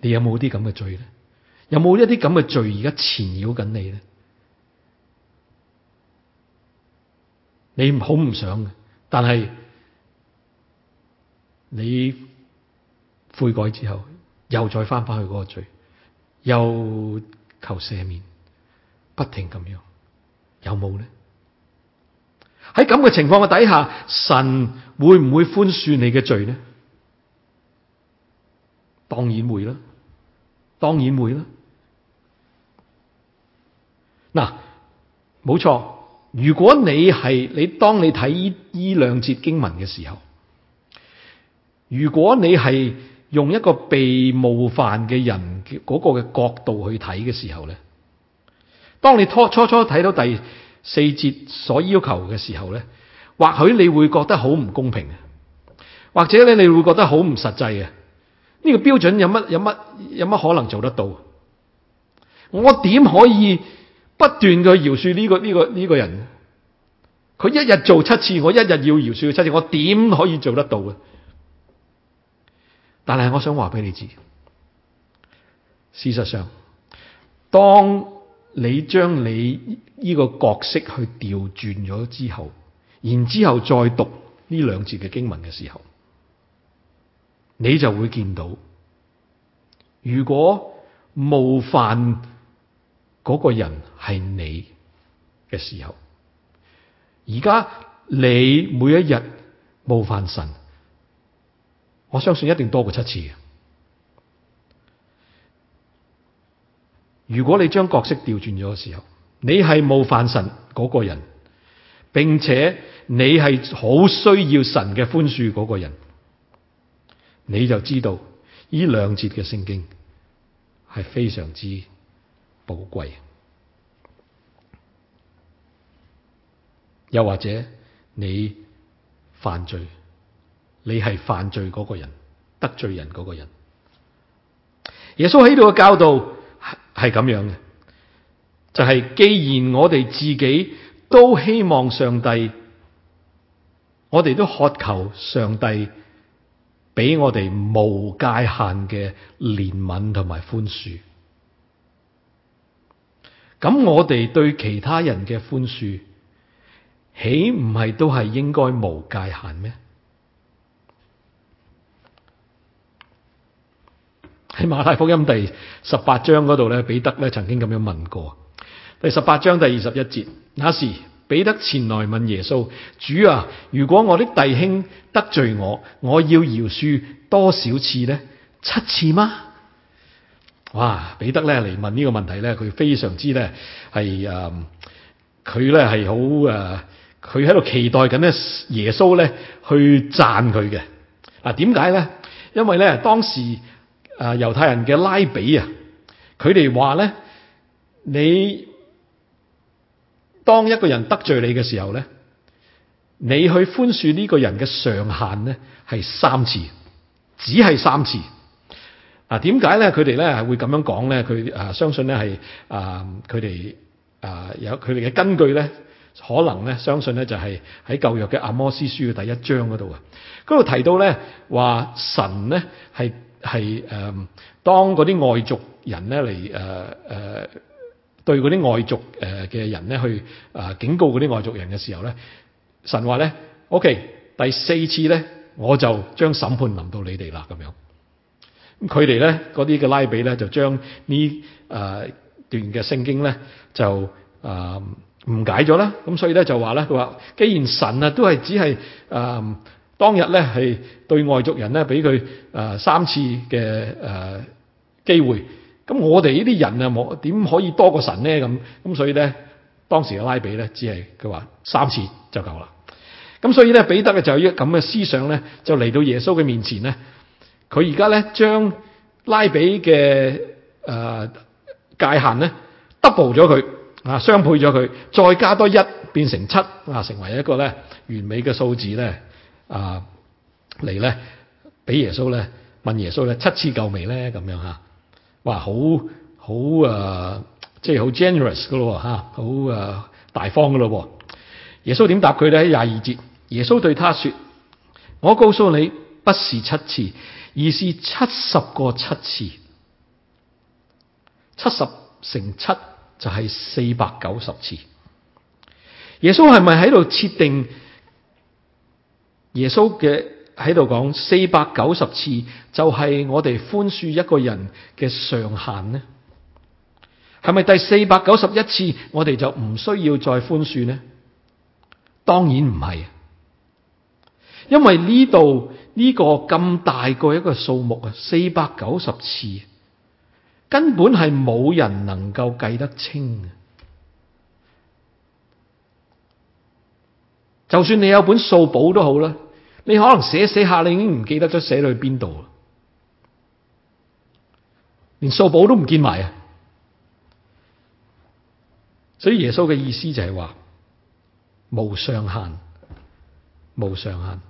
你有冇啲咁嘅罪咧？有冇一啲咁嘅罪而家纏繞緊你咧？你好唔想嘅，但係你悔改之後，又再翻返去嗰個罪，又求赦免，不停咁樣，有冇咧？喺咁嘅情況嘅底下，神會唔會寬恕你嘅罪咧？當然會啦，當然會啦。嗱，冇錯。如果當你睇呢兩節經文嘅時候，如果你係用一個被冒犯嘅人嗰個嘅角度去睇嘅時候咧，當你初初睇到第4節所要求嘅時候咧，或許你會覺得好唔公平，或者咧你會覺得好唔實際嘅。呢個標準有乜可能做得到？我點可以不斷嘅饒恕呢個人？佢一日做7次，我一日要饒恕佢7次，我點可以做得到嘅？但係我想話俾你知，事實上，當你將你呢個角色去調轉咗之後，然之後再讀呢兩節嘅經文嘅時候，你就會見到，如果冒犯嗰個人係你嘅時候，而家你每一日冒犯神，我相信一定多過7次嘅。如果你將角色調轉咗嘅時候，你係冒犯神嗰個人，並且你係好需要神嘅寬恕嗰個人，你就知道呢兩節嘅聖經係非常之寶貴。又或者你犯罪，你係犯罪嗰個人，得罪人嗰個人。耶穌喺度嘅教導係咁樣嘅，就係既然我哋自己都希望上帝，我哋都渴求上帝俾我哋無界限嘅憐憫同埋寬恕，咁我哋對其他人嘅寬恕，豈唔係都係應該無界限咩？喺馬太福音第18章嗰度咧，彼得咧曾經咁樣問過。第18章第21節，那時彼得前來問耶穌：主啊，如果我的弟兄得罪我，我要饒恕多少次呢？7次嗎？哇！彼得咧嚟問呢個問題咧，佢非常之咧係佢咧係好佢喺度期待緊咧耶穌咧去讚佢嘅。點解咧？因為咧當時猶太人嘅拉比啊，佢哋話咧，你當一個人得罪你嘅時候咧，你去寬恕呢個人嘅上限咧係3次，只係3次。點解咧？佢哋咧係會咁樣講咧？佢相信咧係佢哋有佢哋嘅根據咧，可能咧相信咧就係喺舊約嘅阿摩司書嘅第1章嗰度啊，嗰度提到咧話神咧係當嗰啲外族人咧嚟對嗰啲外族嘅人咧去警告嗰啲外族人嘅時候咧，神話咧 OK 第4次咧我就將審判臨到你哋啦咁樣。佢哋咧嗰啲嘅拉比咧就將呢段嘅聖經咧就誤解咗啦。咁所以咧就話咧，佢話既然神都係只係當日咧係對外族人咧俾佢3次嘅機會，咁我哋呢啲人冇點可以多過神咧？咁所以咧當時嘅拉比咧只係佢話3次就夠啦。咁所以咧彼得就有咁嘅思想咧，就嚟到耶穌嘅面前咧。佢而家咧將拉比嘅界限咧 double 咗佢雙倍咗佢，再加多1變成7成為一個咧完美嘅數字咧嚟咧俾耶穌咧問耶穌咧7次夠未咧咁樣嚇，哇好即係好 generous 噶咯嚇，好大方噶咯。耶穌點答佢咧？喺22節，耶穌對他說：我告訴你，不是7次。而是70個7次。 70乘7就係490次。耶穌係咪喺度設定？耶穌嘅喺度講490次就係我哋寬恕一個人嘅上限呢？係咪第491次我哋就唔需要再寬恕呢？當然唔係，因為呢度呢個咁大個一個數目啊，490次根本係冇人能夠計得清嘅。就算你有本數簿都好啦，你可能寫下你已經唔記得咗寫到去邊度啦，連數簿都唔見埋啊！所以耶穌嘅意思就係話無上限，無上限。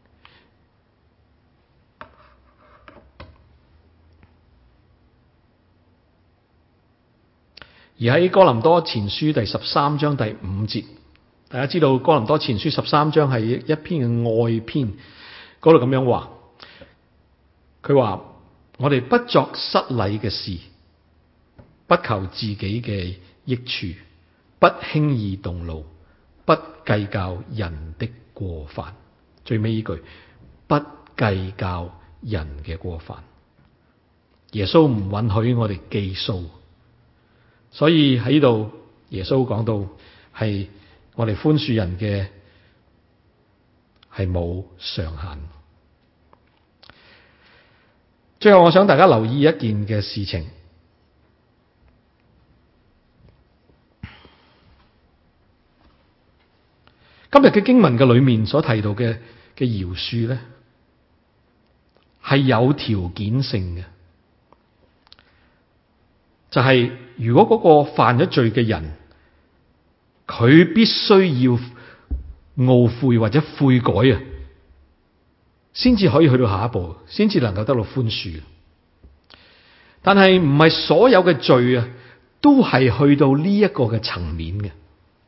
而喺哥林多前書第13章第5節，大家知道哥林多前書13章係一篇嘅愛篇，嗰度咁樣話，佢話我哋不作失禮嘅事，不求自己嘅益處，不輕易動怒，不計較人的過犯。最尾呢句，不計較人嘅過犯。耶穌唔允許我哋記數，所以喺呢度耶穌講到係我哋寬恕人嘅係冇上限。最後我想大家留意一件嘅事情，今日嘅經文嘅裏面所提到嘅饒恕咧，係有條件性嘅，就係如果嗰個犯咗罪嘅人，佢必須要懊悔或者悔改啊，先至可以去到下一步，先至能夠得到寬恕。但係唔係所有嘅罪啊，都係去到呢一個嘅層面嘅。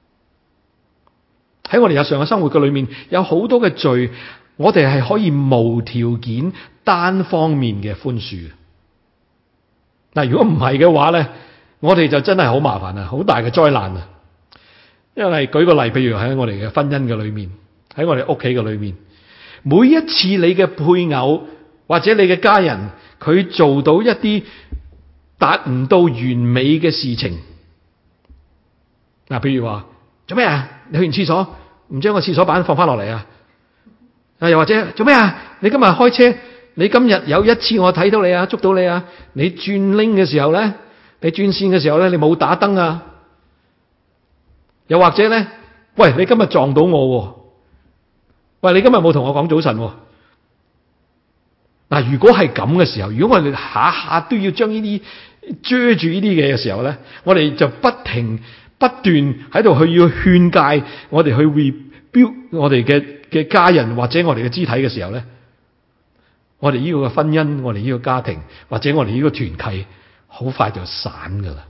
喺我哋日常嘅生活嘅裏面，有好多嘅罪，我哋係可以無條件單方面嘅寬恕。嗱，如果唔係嘅話咧，我哋就真係好麻煩啊，好大嘅災難啊！因為舉個例，譬如喺我哋嘅婚姻嘅裏面，喺我哋屋企嘅裏面，每一次你嘅配偶或者你嘅家人，佢做到一啲達唔到完美嘅事情，嗱，譬如話做咩啊？你去完廁所唔將個廁所板放翻落嚟啊？又或者做咩啊？你今日開車，你今日有一次我睇到你啊，捉到你啊，你轉拎嘅時候咧，你轉線嘅時候咧，你冇打燈啊？又或者咧，喂，你今日撞到我，喂，你今日冇同我講早晨。嗱，如果係咁嘅時候，如果我哋下下都要將呢啲遮住呢啲嘅時候咧，我哋就不斷喺度去要勸誡我哋去 rebuild 我哋嘅家人或者我哋嘅肢體嘅時候咧，我哋呢個嘅婚姻，我哋呢個家庭或者我哋呢個團契，好快就散噶啦。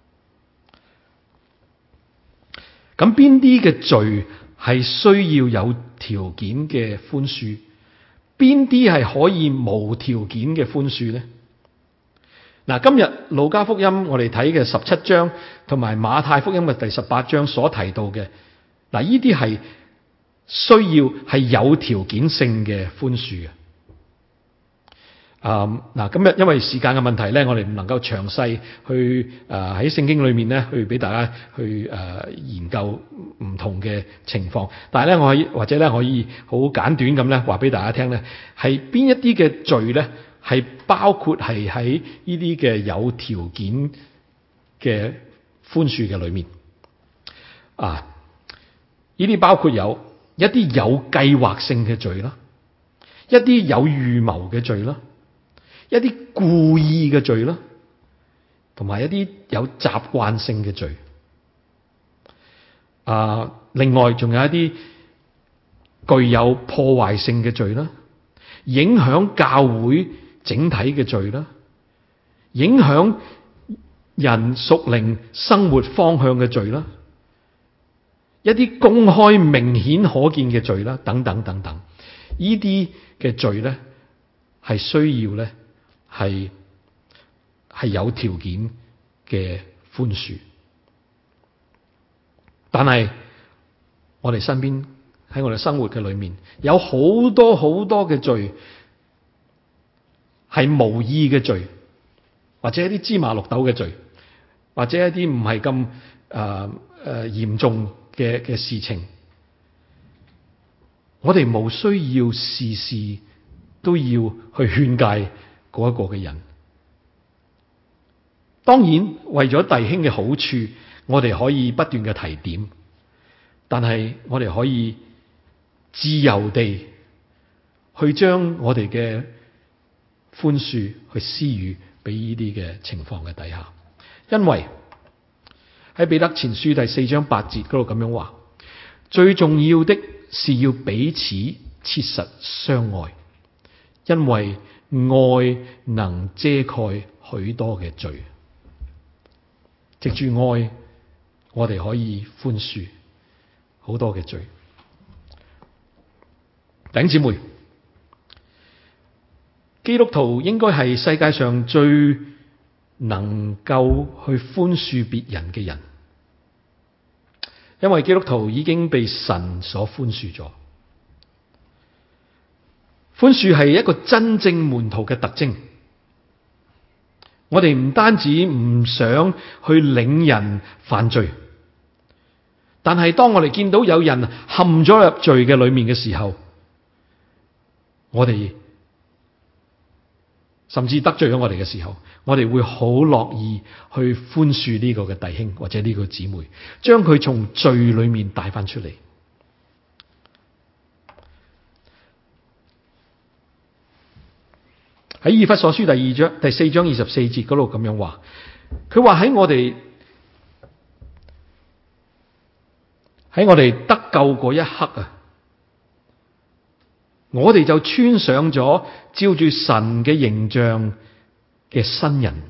咁邊啲嘅罪係需要有條件嘅寬恕？邊啲係可以無條件嘅寬恕呢？嗱，今日路加福音我哋睇嘅17章同埋馬太福音嘅第18章所提到嘅，嗱，呢啲係需要係有條件性嘅寬恕嘅。嗱，今日因為時間嘅問題咧，我哋唔能夠詳細去喺聖經裏面咧去俾大家去研究唔同嘅情況，但係咧我可以或者咧可以好簡短咁咧話俾大家聽咧，係邊一啲嘅罪咧係包括係喺呢啲嘅有條件嘅寬恕嘅裏面啊？呢啲包括有一啲有計劃性嘅罪啦，一啲有預謀嘅罪啦，一啲故意嘅罪啦，同埋一啲有習慣性嘅罪。另外仲有一啲具有破壞性嘅罪啦，影響教會整體嘅罪啦，影響人屬靈生活方向嘅罪啦，一啲公開明顯可見嘅罪啦，等等等等，呢啲嘅罪咧係需要咧係有條件嘅寬恕。但係我哋身邊喺我哋生活嘅裏面，有好多好多嘅罪係無意嘅罪，或者一啲芝麻綠豆嘅罪，或者一啲唔係咁嚴重嘅事情，我哋冇需要事事都要去勸誡嗰一個嘅人。當然為咗弟兄嘅好處，我哋可以不斷嘅提點，但係我哋可以自由地去將我哋嘅寬恕去施予俾呢啲嘅情況嘅底下。因為喺彼得前書第4章8節嗰度咁樣話，最重要的是要彼此切實相愛，因為愛能遮蓋許多嘅罪。藉住愛，我哋可以寬恕好多嘅罪。弟兄姊妹，基督徒應該係世界上最能夠去寬恕別人嘅人，因為基督徒已經被神所寬恕咗。寬恕係一個真正門徒嘅特徵。我哋唔單止唔想去領人犯罪，但係當我哋見到有人陷咗入罪嘅裏面嘅時候，我哋甚至得罪咗我哋嘅時候，我哋會好樂意去寬恕呢個嘅弟兄或者呢個姊妹，將佢從罪裏面帶翻出嚟。喺以弗所書第4章24節嗰度咁樣話，佢話喺我哋得救嗰一刻啊，我哋就穿上咗照住神嘅形象嘅新人。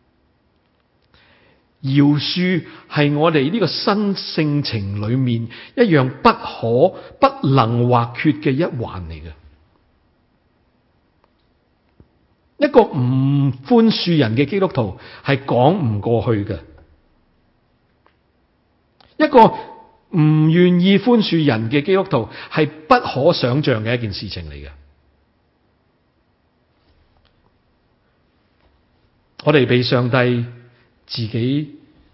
饒恕係我哋呢個新性情裏面一樣不能或缺嘅一環嚟嘅。一個唔寬恕人嘅基督徒係講唔過去嘅，一個唔願意寬恕人嘅基督徒係不可想象嘅一件事情嚟嘅。我哋被上帝寬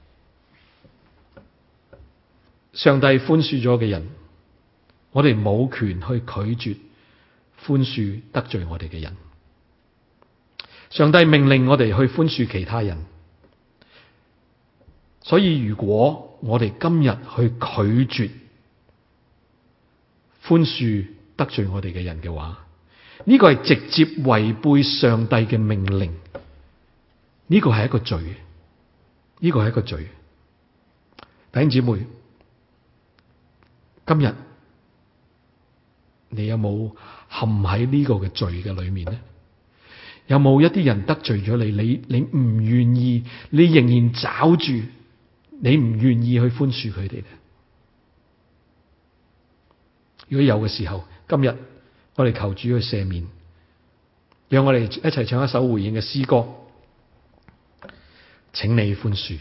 恕咗嘅人，我哋冇權去拒絕寬恕得罪我哋嘅人。上帝命令我哋去寬恕其他人，所以如果我哋今日去拒絕寬恕得罪我哋嘅人嘅話，呢個係直接違背上帝嘅命令，呢個係一個罪，呢個係一個罪。弟兄姊妹，今日你有冇陷喺呢個嘅罪嘅裏面呢？有冇一啲人得罪咗你，你唔願意，你仍然抓住，你唔願意去寬恕佢哋咧？如果有嘅時候，今日我哋求主去赦免，讓我哋一齊唱一首回應嘅詩歌，請你寬恕。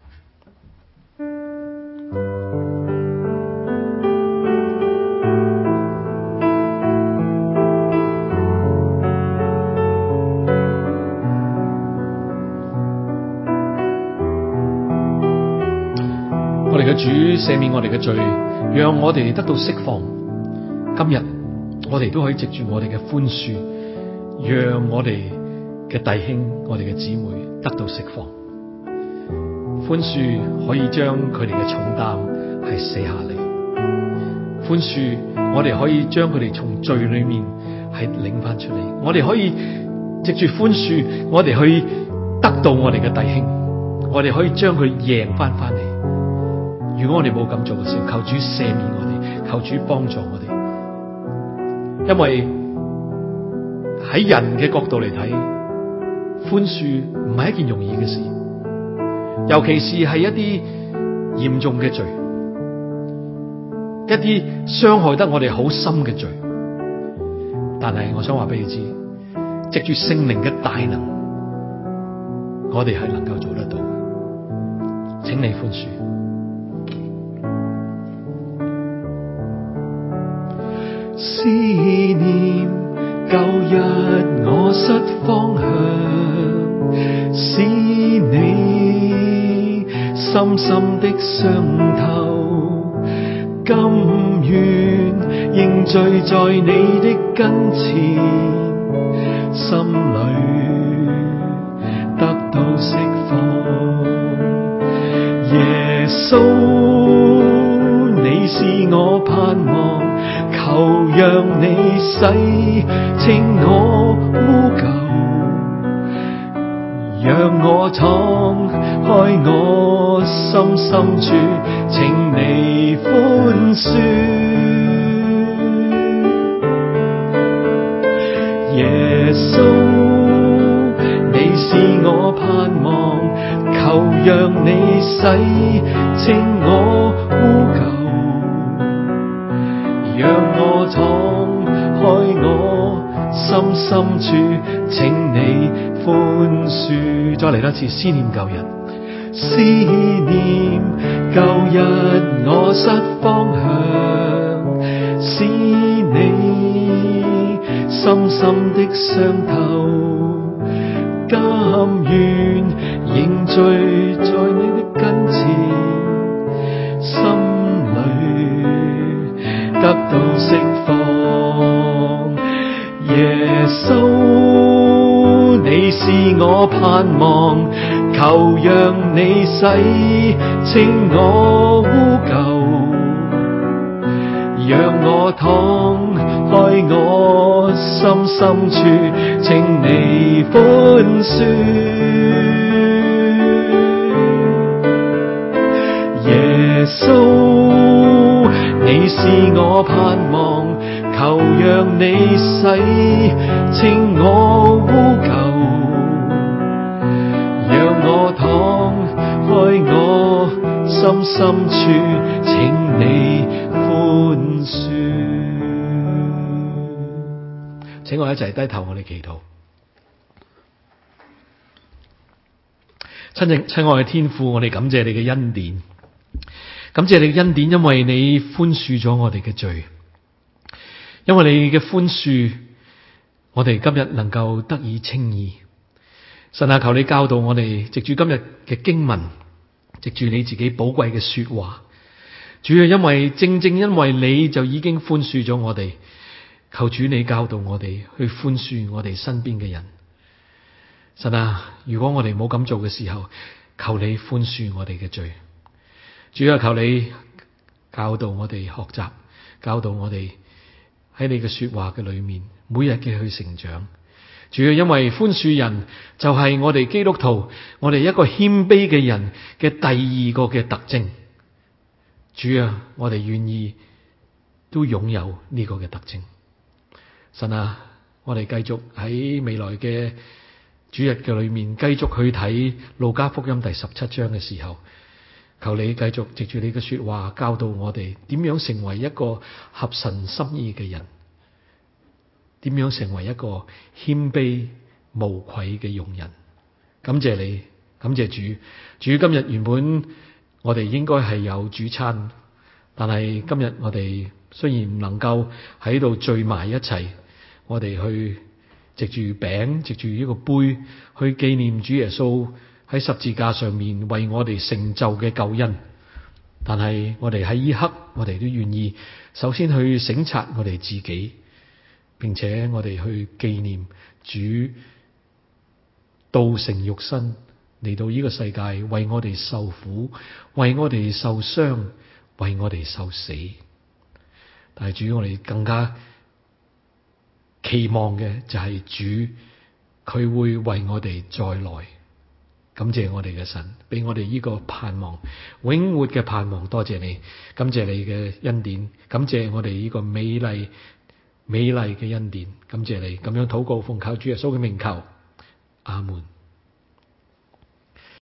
我哋嘅主赦免我哋嘅罪，讓我哋得到釋放。今日我哋都可以藉住我哋嘅寬恕，讓我哋嘅弟兄、我哋嘅姊妹得到釋放。寬恕可以將佢哋嘅重擔係卸下嚟，寬恕我哋可以將佢哋從罪裏面係領翻出嚟。我哋可以藉住寬恕，我哋去得到我哋嘅弟兄，我哋可以將佢贏翻嚟。如果我哋冇咁做嘅時候，求主赦免我哋，求主幫助我哋。因為喺人嘅角度嚟睇，寬恕唔係一件容易嘅事，尤其是係一啲嚴重嘅罪，一啲傷害得我哋好深嘅罪。但係我想話俾你知，藉住聖靈嘅大能，我哋係能夠做得到。 請你寬恕。 思念舊日我失方向，使你深深的傷透，甘願認罪在你的跟前，心裏得到釋放。耶穌，你是我盼望，求讓你洗清我污垢，讓我敞開我心深處，請你寬恕。耶穌，你是我盼望，求讓你洗清我污垢，讓我敞開我心深處，請你寬恕。 再嚟多次，思念舊日， 思念舊日我失方向，使你深深的傷透，甘願認罪在你的跟前，心裏得到釋放。耶穌，你是我盼望，求讓你洗清我污垢，讓我敞開我心深處，請你寬恕。耶穌，你是我盼望，求讓你洗清我污垢，讓我敞開我心深處，請你寬恕。 請我一齊低頭，我哋祈禱。親愛嘅天父，我哋感謝你嘅恩典，感謝你嘅恩典，因為你寬恕咗我哋嘅罪，因為你嘅寬恕，我哋今日能夠得以稱義。神啊，求你教導我哋，藉住今日嘅經文，藉住你自己寶貴嘅說話，主要正因為你就已經寬恕咗我哋，求主你教導我哋去寬恕我哋身邊嘅人。神啊，如果我哋冇咁做嘅時候，求你寬恕我哋嘅罪。主啊，求你教導我哋學習，教導我哋喺你嘅說話嘅裏面，每日嘅去成長。主要因為寬恕人就係我哋基督徒，我哋一個謙卑嘅人嘅第二個嘅特徵。主啊，我哋願意都擁有呢個嘅特徵。神啊，我哋繼續喺未來嘅主日嘅裏面，繼續去睇路加福音第17章嘅時候，求你繼續藉住你嘅說話教導我哋點樣成為一個合神心意嘅人，點樣成為一個謙卑無愧嘅用人。感謝你，感謝主。主，今日原本我哋應該係有主餐，但係今日我哋雖然唔能夠喺度聚埋一齊，我哋去藉住餅，藉住呢個杯，去紀念主耶穌喺十字架上面為我哋成就嘅救恩。但係我哋喺呢刻，我哋都願意首先去省察我哋自己，並且我哋去紀念主道成肉身嚟到呢個世界，為我哋受苦，為我哋受傷，為我哋受死。但係主，我哋更加期望嘅就係主佢會為我哋再來。感謝我哋嘅神，俾我哋呢個盼望，永活嘅盼望。多謝你，感謝你嘅恩典，感謝我哋呢個美麗嘅恩典。感謝你咁樣禱告，奉靠主耶穌嘅名求，阿門。